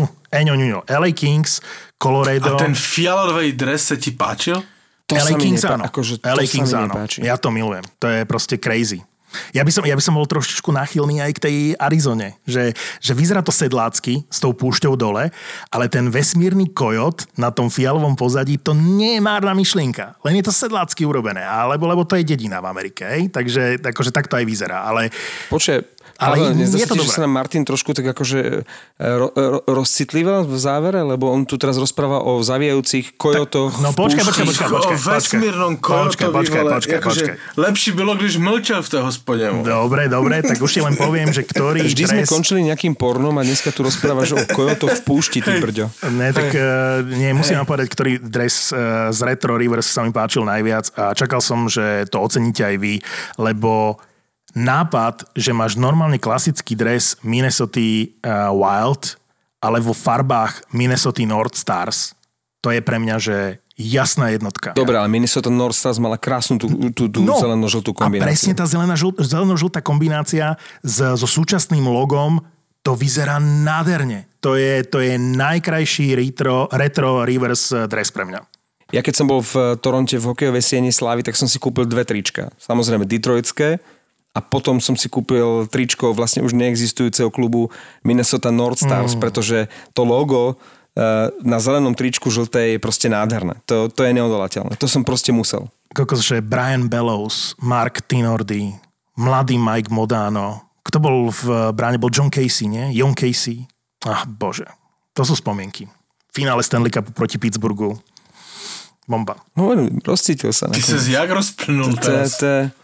LA Kings, Colorado. A ten fialový dres sa ti páčil? LA Kings áno. LA Kings áno. Ja to milujem. To je proste crazy. Ja by som bol trošičku náchylný aj k tej Arizone, že vyzerá to sedlácky s tou púšťou dole, ale ten vesmírny kojot na tom fialovom pozadí, to nie je márna myšlienka. Len je to sedlácky urobené, lebo to je dedina v Amerike, hej? Takže akože takto aj vyzerá, ale... Ale je to dobré. Že sa nám Martin trošku tak akože rozcitlíval v závere, lebo on tu teraz rozpráva o zavíjajúcich kojotoch. No počkaj. O vesmírnom kojotovi, počkaj. Lepší bylo, když mlčal v té hospodě. Dobre, tak už ti len poviem, že ktorý vždy sme končili nejakým pornom a dneska tu rozprávaš o kojotoch v púšti, ty brďo. Musím vám povedať, ktorý dres z Retro Reverse sa mi páčil najviac a čakal som, že to oceníte aj vy, lebo nápad, že máš normálne klasický dres Minnesota Wild, ale vo farbách Minnesota North Stars, to je pre mňa, že jasná jednotka. Dobre, ale Minnesota North Stars mala krásnu tú zeleno-žltú kombináciu. A presne tá zeleno-žltá kombinácia so súčasným logom, to vyzerá nádherne. To je najkrajší retro reverse dres pre mňa. Ja keď som bol v Toronte v hokejovej sieni Slávy, tak som si kúpil 2 trička. Samozrejme detroitské, a potom som si kúpil tričko vlastne už neexistujúceho klubu Minnesota North Stars, pretože to logo na zelenom tričku žlté je proste nádherné. To je neodolateľné. To som proste musel. Kokos, že Brian Bellows, Mark Tinordi, mladý Mike Modano. Kto bol v bráne? Bol John Casey, nie? Jon Casey. Bože. To sú spomienky. Finále Stanley Cupu proti Pittsburghu. Bomba. No, rozcítil sa. Ty sa jak rozplnul teraz.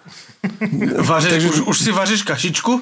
Už si vaříš kašičku?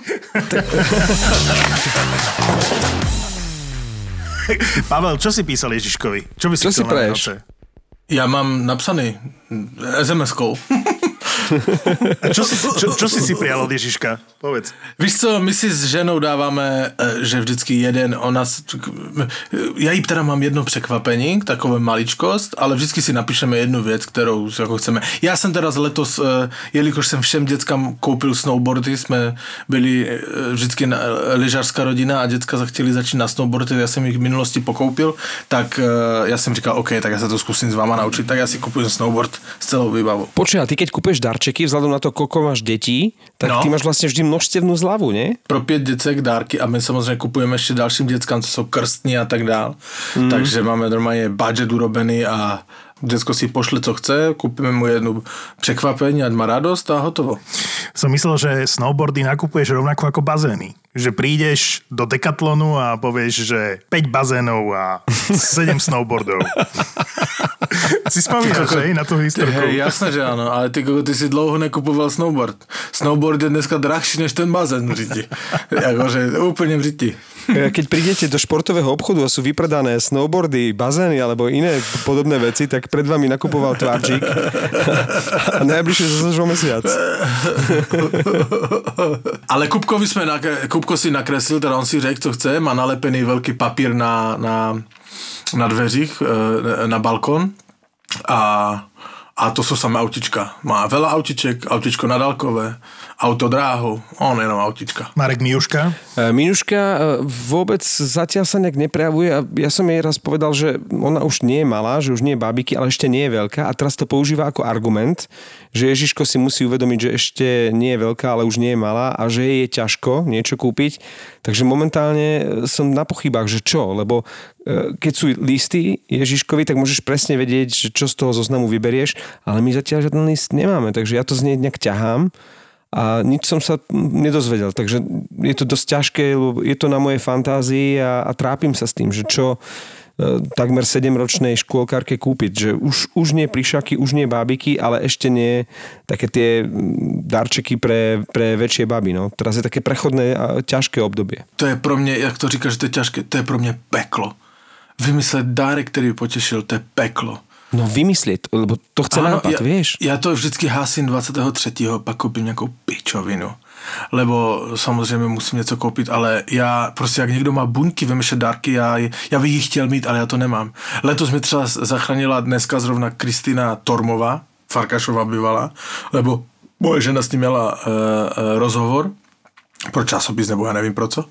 Pavel, čo si písal Ježiškovi? Čo by si chcel na Vianoce? Ja mám napsaný SMS-kou. Čo si prijal od Ježiška? Povedz. Víš co, my si s ženou dáváme, že vždycky já jí teda mám jedno překvapení, takové maličkost, ale vždycky si napíšeme jednu věc, kterou jako chceme. Já jsem teda letos, jelikož jsem všem dětskám koupil snowboardy, jsme byli vždycky lyžařská rodina a děcka chtěli začít na snowboardy, já jsem jich v minulosti pokoupil, tak já jsem říkal, OK, tak já se to zkusím s váma naučit, tak já si kupujem snowboard s celou výbavou. Počuj, a ty keď kupuješ darčeky, vzhľadom na to, koľko máš detí, tak ty máš vlastne vždy množstevnú zľavu, nie? Pro 5 děcek dárky a my samozřejmě kupujeme ještě dalším dětskám, co jsou krstní a tak dál. Takže máme normálně budget urobený a děcko si pošle, co chce, kúpime mu jednu překvapení, ať má radost a hotovo. Som myslel, že snowboardy nakupuješ rovnako ako bazény. Že prídeš do Decathlonu a povieš, že 5 bazénov a 7 snowboardov. Si spomínaš, že? Na tú historku. Hej, jasné, že áno, ale ty si dlouho nekupoval snowboard. Snowboard je dneska drahší než ten bazén v Řiti. Jakože úplne v Řiti. Keď prídete do športového obchodu a sú vypredané snowboardy, bazény alebo iné podobné veci, tak pred vami nakupoval tvarčík a najbližšie zase o mesiac. Ale Kupko si nakreslil, teda on si řekl, co chce, má nalepený veľký papír na dveřích, na balkón a to sú samé autička. Má veľa autiček, autičko nadálkové, autodráhu, on jenom autička. Marek, Miuška? Miuška vôbec zatiaľ sa nejak neprejavuje a ja som jej raz povedal, že ona už nie je malá, že už nie je bábiky, ale ešte nie je veľká a teraz to používa ako argument, že Ježiško si musí uvedomiť, že ešte nie je veľká, ale už nie je malá a že jej je ťažko niečo kúpiť. Takže momentálne som na pochybách, že čo, lebo keď sú listy Ježiškovi, tak môžeš presne vedieť, že čo z toho zoznamu vyberieš, ale my zatiaľ žiaden list nemáme, takže ja to z nej nejak ťahám a nič som sa nedozvedel, takže je to dosť ťažké, lebo je to na mojej fantázii a trápim sa s tým, že čo takmer 7-ročnej škôlkarke kúpiť, že už nie plišaky, už nie bábiky, ale ešte nie také tie darčeky pre väčšie baby. No. Teraz je také prechodné a ťažké obdobie. To je pro mě, jak to říkáš, že to je ťažké, to je pro mě peklo. Vymyslet dárek, který by potešil, to je peklo. No vymyslieť, lebo to chce nápad, vieš. Ja to vždycky hásím 23. pak koupím nejakou pičovinu. Lebo samozřejmě musím něco koupit, ale já prostě jak někdo má buňky vymýšlet dárky, já bych jich chtěl mít, ale já to nemám. Letos mi třeba zachránila dneska zrovna Kristýna Tormová, Farkašová bývalá, lebo moje žena s ním měla rozhovor pro časopis, nebo já nevím pro co.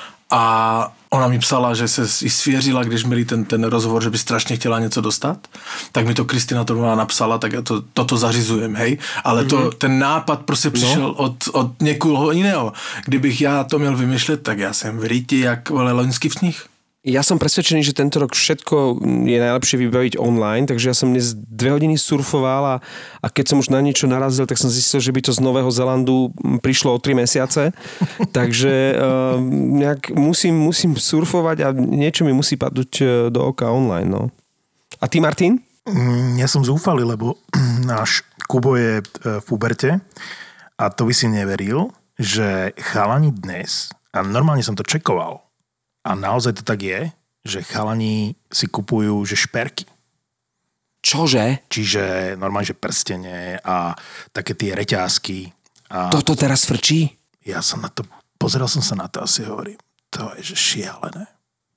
A ona mi psala, že se jí svěřila, když měli ten rozhovor, že by strašně chtěla něco dostat, tak mi to Kristýna Tormová napsala, tak já toto zařizujem, hej. Ale ten nápad prostě přišel od někoho jiného. Kdybych já to měl vymýšlet, tak já jsem v Riti jak loňský sníh. Ja som presvedčený, že tento rok všetko je najlepšie vybaviť online, takže ja som dnes 2 hodiny surfoval a keď som už na niečo narazil, tak som zistil, že by to z Nového Zelandu prišlo o 3 mesiace. Takže nejak musím surfovať a niečo mi musí padnúť do oka online. No. A ty, Martin? Ja som zúfalý, lebo náš Kubo je v puberte a to by si neveril, že chalani dnes, a normálne som to čekoval, a naozaj to tak je, že chalani si kupujú, že šperky. Čože? Čiže normálne, že prstenie a také tie reťázky. A toto teraz frčí? Ja som na to, pozeral som sa na to a si hovorím, to je že šialené.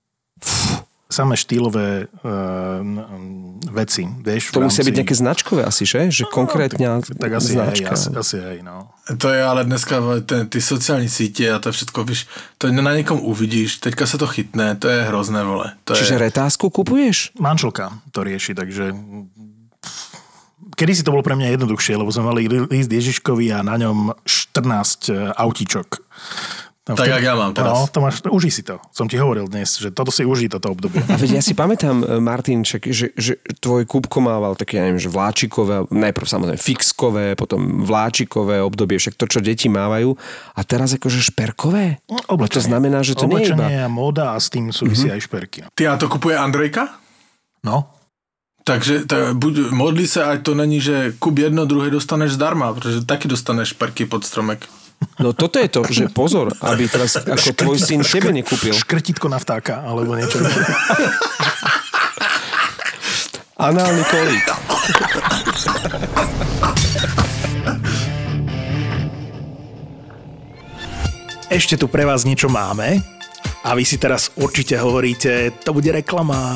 Samé štýlové veci, vieš. To musia byť nejaké značkové asi, že? Že konkrétne tak asi značka. Asi hej, no. To je ale dneska ty sociální sítě a to všetko, víš, to na někom uvidíš, teďka se to chytne, to je hrozné, vole. Čiže retázku kupuješ? Manželka to rieši, takže kedysi to bolo pre mňa jednoduchšie, lebo sme mali list Ježiškovi a na ňom 14 autíčok. Tak jak ja mám teraz. No, Tomáš, užij si to. Som ti hovoril dnes, že toto si užij, toto obdobie. A veď ja si pamätám, Martin, že tvoj Kúbko mával také, ja neviem, že vláčikové, najprv samozrejme fixkové, potom vláčikové obdobie, však to, čo deti mávajú. A teraz akože šperkové? Oblečenie. To znamená, že to nie je iba... Oblečenie a móda a s tým súvisí aj šperky. Ty, a to kupuje Andrejka? No. Takže modlí se, ať to není, že kup jedno, druhé dostaneš zdarma, protože taky dostaneš šperky pod stromek. No toto je to, že pozor, aby teraz ako tvoj syn tebe nekúpil. Škrtítko na vtáka, alebo niečo. Análny kolík. ešte tu pre vás niečo máme a vy si teraz určite hovoríte, to bude reklama.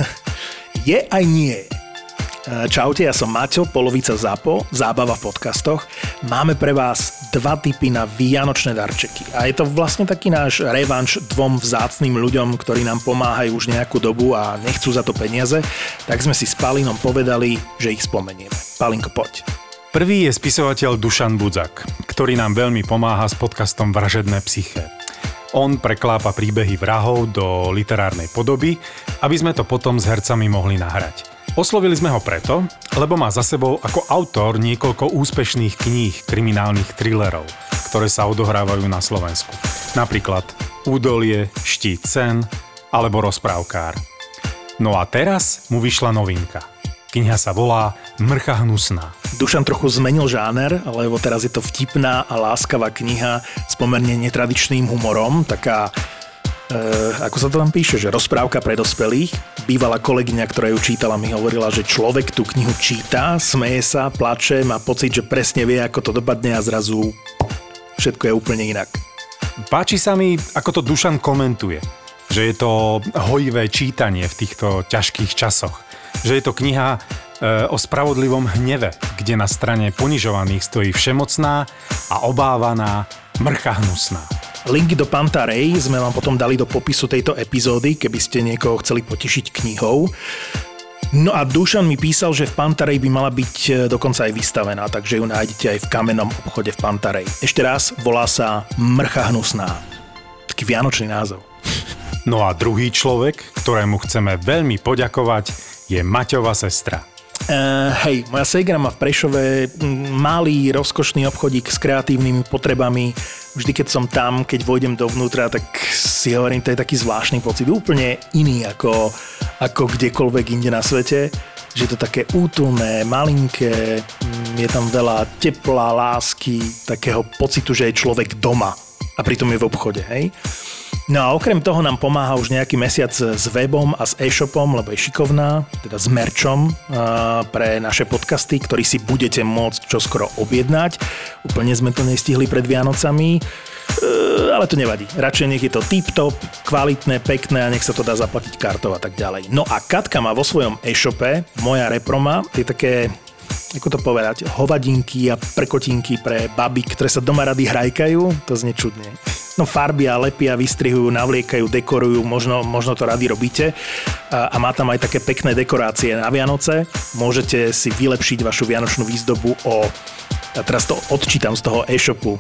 Je aj nie. Čaute, ja som Maťo, polovica ZAPO, zábava v podcastoch. Máme pre vás 2 tipy na vianočné darčeky. A je to vlastne taký náš revanš 2 vzácnym ľuďom, ktorí nám pomáhajú už nejakú dobu a nechcú za to peniaze. Tak sme si s Palinom povedali, že ich spomenieme. Palinko, poď. Prvý je spisovateľ Dušan Budzak, ktorý nám veľmi pomáha s podcastom Vražedné psyché. On preklápa príbehy vrahov do literárnej podoby, aby sme to potom s hercami mohli nahrať. Oslovili sme ho preto, lebo má za sebou ako autor niekoľko úspešných kníh kriminálnych thrillerov, ktoré sa odohrávajú na Slovensku. Napríklad Údolie, Štít sen alebo Rozprávkár. No a teraz mu vyšla novinka. Kniha sa volá Mrcha hnusná. Dušan trochu zmenil žáner, lebo teraz je to vtipná a láskavá kniha s pomerne netradičným humorom, taká ako sa to tam píše, že rozprávka pre dospelých. Bývalá kolegyňa, ktorá ju čítala, mi hovorila, že človek tú knihu číta, smeje sa, plače, má pocit, že presne vie, ako to dopadne a zrazu všetko je úplne inak. Páči sa mi, ako to Dušan komentuje, že je to hojivé čítanie v týchto ťažkých časoch. Že je to kniha o spravodlivom hneve, kde na strane ponižovaných stojí všemocná a obávaná mrcha hnusná. Linky do Pantarej sme vám potom dali do popisu tejto epizódy, keby ste niekoho chceli potešiť knihou. No a Dušan mi písal, že v Pantarej by mala byť dokonca aj vystavená, takže ju nájdete aj v kamennom obchode v Pantarej. Ešte raz, volá sa Mrcha hnusná. Taký vianočný názov. No a druhý človek, ktorému chceme veľmi poďakovať, je Maťova sestra. Hej, moja ségra má v Prešove malý, rozkošný obchodík s kreatívnymi potrebami. Vždy, keď som tam, keď vojdem dovnútra, tak si hovorím, to je taký zvláštny pocit, úplne iný ako kdekoľvek inde na svete. Že je to také útulné, malinké, je tam veľa tepla, lásky, takého pocitu, že je človek doma a pritom je v obchode, hej. No a okrem toho nám pomáha už nejaký mesiac s webom a s e-shopom, lebo je šikovná, teda s merčom pre naše podcasty, ktorý si budete môcť čoskoro objednať. Úplne sme to nestihli pred Vianocami, ale to nevadí. Radšej nech je to tip-top, kvalitné, pekné a nech sa to dá zaplatiť kartou a tak ďalej. No a Katka má vo svojom e-shope, Moja reproma, je také, ako to povedať, hovadinky a prkotinky pre baby, ktoré sa doma rady hrajkajú, to znie čudne. No farbia, lepia, vystrihujú, navliekajú, dekorujú, možno to rady robíte a má tam aj také pekné dekorácie na Vianoce. Môžete si vylepšiť vašu vianočnú výzdobu a teraz to odčítam z toho e-shopu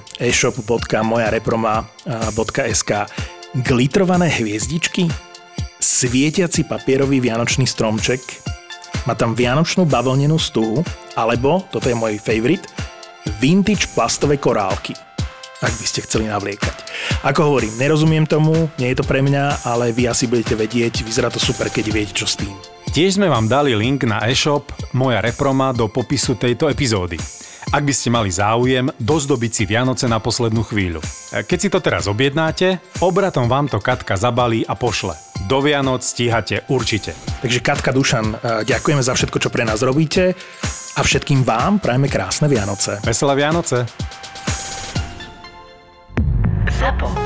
e-shop.mojareproma.sk. Glitrované hviezdičky, svietiaci papierový vianočný stromček, má tam vianočnú bavlnenú stuhu, alebo, toto je môj favorite, vintage plastové korálky, ak by ste chceli navliekať. Ako hovorím, nerozumiem tomu, nie je to pre mňa, ale vy asi budete vedieť, vyzerá to super, keď viete, čo s tým. Tiež sme vám dali link na e-shop Moja reproma do popisu tejto epizódy. Ak by ste mali záujem dozdobiť si Vianoce na poslednú chvíľu. Keď si to teraz objednáte, obratom vám to Katka zabalí a pošle. Do Vianoc stíhate určite. Takže Katka, Dušan, ďakujeme za všetko, čo pre nás robíte a všetkým vám prajeme krásne Vianoce. Veselé Vianoce. ZAPO.